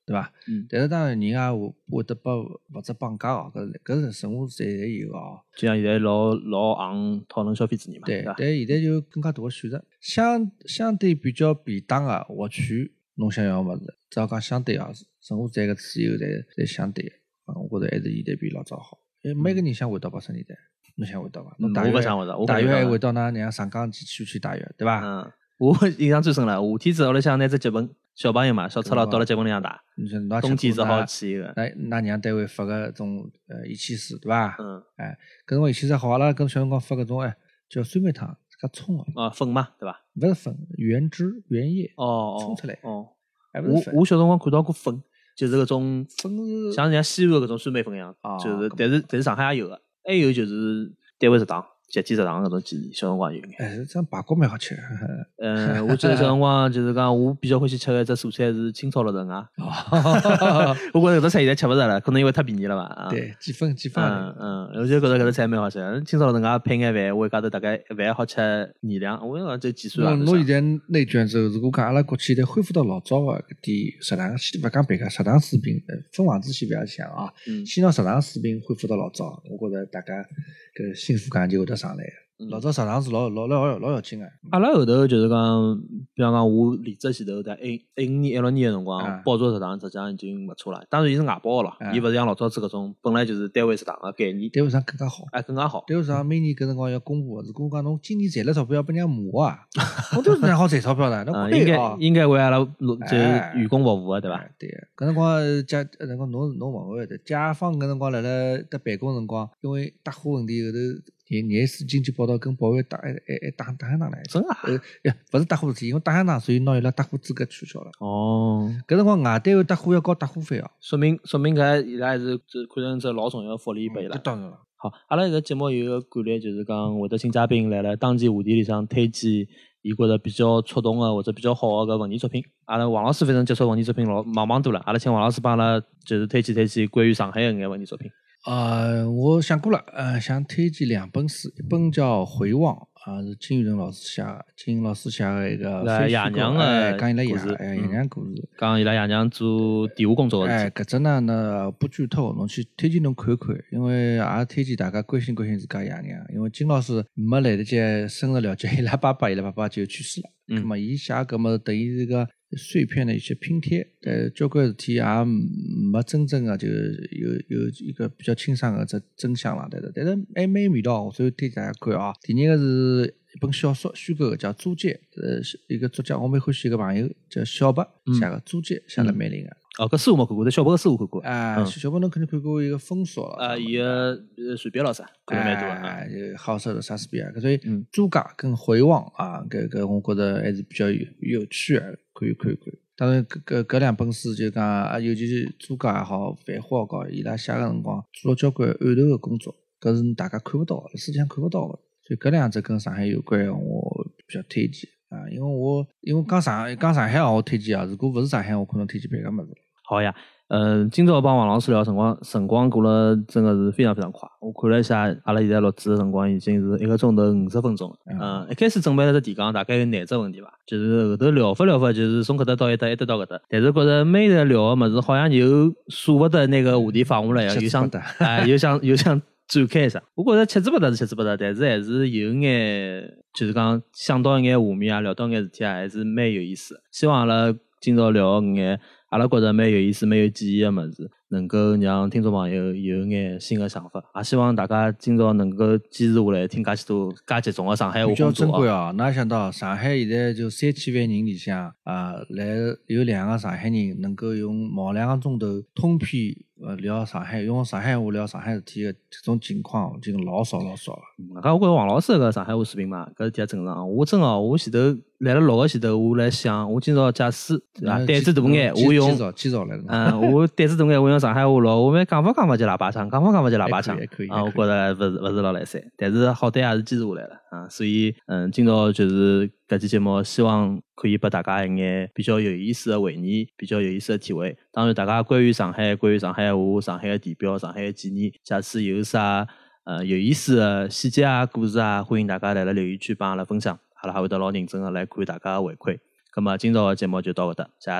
对伐？ 嗯， 但是当然人也会会得拨或者绑架哦，搿搿是生活侪侪有哦。 就像现在老老行讨论消费主义嘛， 对， 伐？ 但现在就更加多个选择，相相对比较便当个获取侬想要个物事，只要讲相对哦，生活在个自由侪侪相对个，啊，我觉着还是现在比老早好。因为每个人想回到八十年代，侬想回到伐？侬大我约勿想回到，我大约还回到到㑚娘上港去去去大约，对伐？ 嗯，我印象最深了，夏天子屋里向拿只脚本，小朋友嘛，小赤佬到了脚本里向打， 你说侬冬天只好去一个。 那㑚娘单位发个种呃一七四，对伐？ 嗯， 哎，搿辰光一七四好，阿拉跟小辰光发搿种哎叫酸梅汤，自家冲个， 啊，粉嘛，对伐？ 勿是粉，原汁原叶哦哦， 冲出来， 哦， 还勿是粉。 我我小辰光看到过粉，就是搿种粉是像人家西安搿种酸梅粉一样啊， 就是， 搿但是但是上海也有个，还有就是单位食堂、集体食堂搿种建议，小辰光有眼。 哎，这样排骨蛮好吃。 嗯，我记得小辰光就是讲，我比较欢喜吃个一只蔬菜是青炒肉藤啊。我觉着搿只菜现在吃勿着了，可能因为太便宜了吧。啊、 对，几分几分。 嗯嗯，我就觉着搿只菜蛮好吃。青炒肉藤啊，配眼饭，我一家头大概一饭好吃二两。我讲这几岁了。 侬侬现在内卷之后，如果讲阿拉国企现在恢复到老早个搿点食堂，先勿讲别个食堂水平，分房子先勿要想啊， 嗯、 先拿食堂水平恢复到老早，我觉着大家搿幸福感就会得上来。老早食堂是老老老老要紧个。 阿拉后头就是讲，比方讲我离职前头在一一五年、一六年个辰光，包桌食堂实际上已经勿错了。当然，伊是外包个咯，伊勿是像老早子搿种本来就是单位食堂个概念。 单位食堂更加好， 哎，更加好。 单位食堂每年搿辰光要公布，如果讲侬今年赚了钞票要拨人家骂啊，我都是哪好赚钞票的，侬应该应该为阿拉就员工服务个，对伐？ 对，搿辰光家搿辰光侬侬勿会的，甲方搿辰光辣辣搭办公辰光，因为搭货问题后头。廿廿四经济报道跟保安打还还还打打相打来， 真啊？ 呃，呀，勿是打货事体，因为打相打，所以拿伊拉打货资格取消了。 哦， 搿辰光外单位打货要交打货费哦， 说明说明搿伊拉还是是看成只老重要福利拨伊拉。 当然了。 好，阿拉搿节目有一个惯例，就是讲会得请嘉宾来了当期话题里向推荐伊觉着比较触动个或者比较好个搿文艺作品。阿拉王老师反正接触文艺作品老忙忙多了，阿拉请王老师帮阿拉就是推荐推荐关于上海个眼文艺作品。 呃，我想过了，呃，想推荐两本书，一本叫《回望》，啊，是金宇澄老师写的，金老师写的一个爷娘的讲伊拉爷故事， 哎，爷娘故事， 讲伊拉爷娘做电话工作的事。 哎，搿只呢呢不剧透，侬去推荐侬看看，因为也推荐大家关心关心自家爷娘，因为金老师没来得及深入了解伊拉爸爸，伊拉爸爸就去世了， 嗯， 那么伊写搿么等于是个碎片的一些拼贴，呃，交关事体也没真正的就有有一个比较清爽的这真相了，但是但是还蛮有味道，所以推荐大家看啊。第二个是一本小说虚构的，叫《租界》，呃，一个作家我蛮欢喜一个朋友叫小白写的《租界》，写得蛮灵的。 哦，搿书我没看过，但小白个书我看过。 啊， 嗯、 小白侬肯定看过一个封锁了。 啊，伊个随笔老师看了蛮多啊， 啊。 就好色的莎士比亚，所以租界跟回望啊，搿搿我觉着还是比较有有趣的，可以看一看。当然，搿搿搿两本书就讲啊，尤其是租界也好，繁花也好，伊拉写个辰光做了交关案头的工作，搿是大家看不到的，世界上看不到的。所以搿两只跟上海有关，我比较推荐啊，因为我因为讲上讲上海我推荐啊，如果勿是上海，我可能推荐别个物事。 好呀，嗯、呃，今朝帮王老师聊辰光，辰光过了真的是非常非常快。我看了一下，阿拉现在录制的辰光已经是一个钟头五十分钟了。嗯、呃，一开始准备了只提纲，大概有廿只问题吧，就是后头聊法聊法，就是从搿搭到一搭，一搭到搿搭。但是觉着每日聊个物事好像又舍勿得那个话题放下来，又想哎，又想又想展开一下。我觉着七之八搭是七之八搭，但是还是有眼就是讲想到一眼画面啊，聊到一眼事体啊，还是蛮有意思的。希望阿拉今朝聊个眼。阿拉觉着蛮有意思、蛮有记忆的物事，能够让听众朋友有眼新的想法。也希望大家今朝能够坚持下来，听介许多介集中的上海话比较工作珍贵哦。哪想到上海现在就三千万人里向啊，来有两个上海人能够用毛两个钟头通篇呃聊上海，用上海话聊上海事体的这种情况，已经老少老少了。 搿我觉着王老师搿上海话水平嘛，搿是挺正常。我真哦，我前头来了录个前头，我来想，我今朝假使啊胆子大眼，我用介绍来了。 嗯，我胆子大眼，我用上海话录，我们讲法讲法就喇叭腔，讲法讲法就喇叭腔啊，我觉着勿是勿是老来三，但是好歹也是坚持下来了啊，所以嗯，今朝就是搿期节目，希望可以拨大家一眼比较有意思的回忆，比较有意思的体会。当然，大家关于上海、关于上海话、上海的地标、上海的纪念，假使有啥呃有意思的细节啊、故事啊，欢迎大家来了留言区帮阿拉分享，阿拉还会得老认真的来看大家的回馈。咁么今朝的节目就到搿搭，谢谢大家。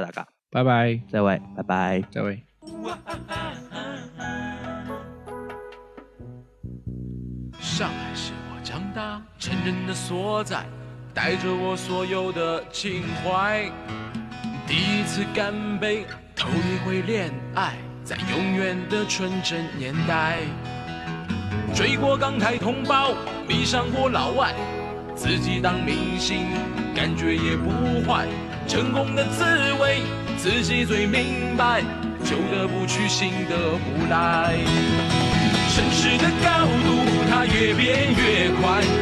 拜拜， 再会，拜拜。 再会。 上海是我长大成人的所在，带着我所有的情怀。第一次干杯，头一回恋爱，在永远的纯真年代。追过港台同胞，迷上过老外，自己当明星，感觉也不坏。成功的滋味，自己最明白，旧的不去，新的不来。城市的高度，它越变越快。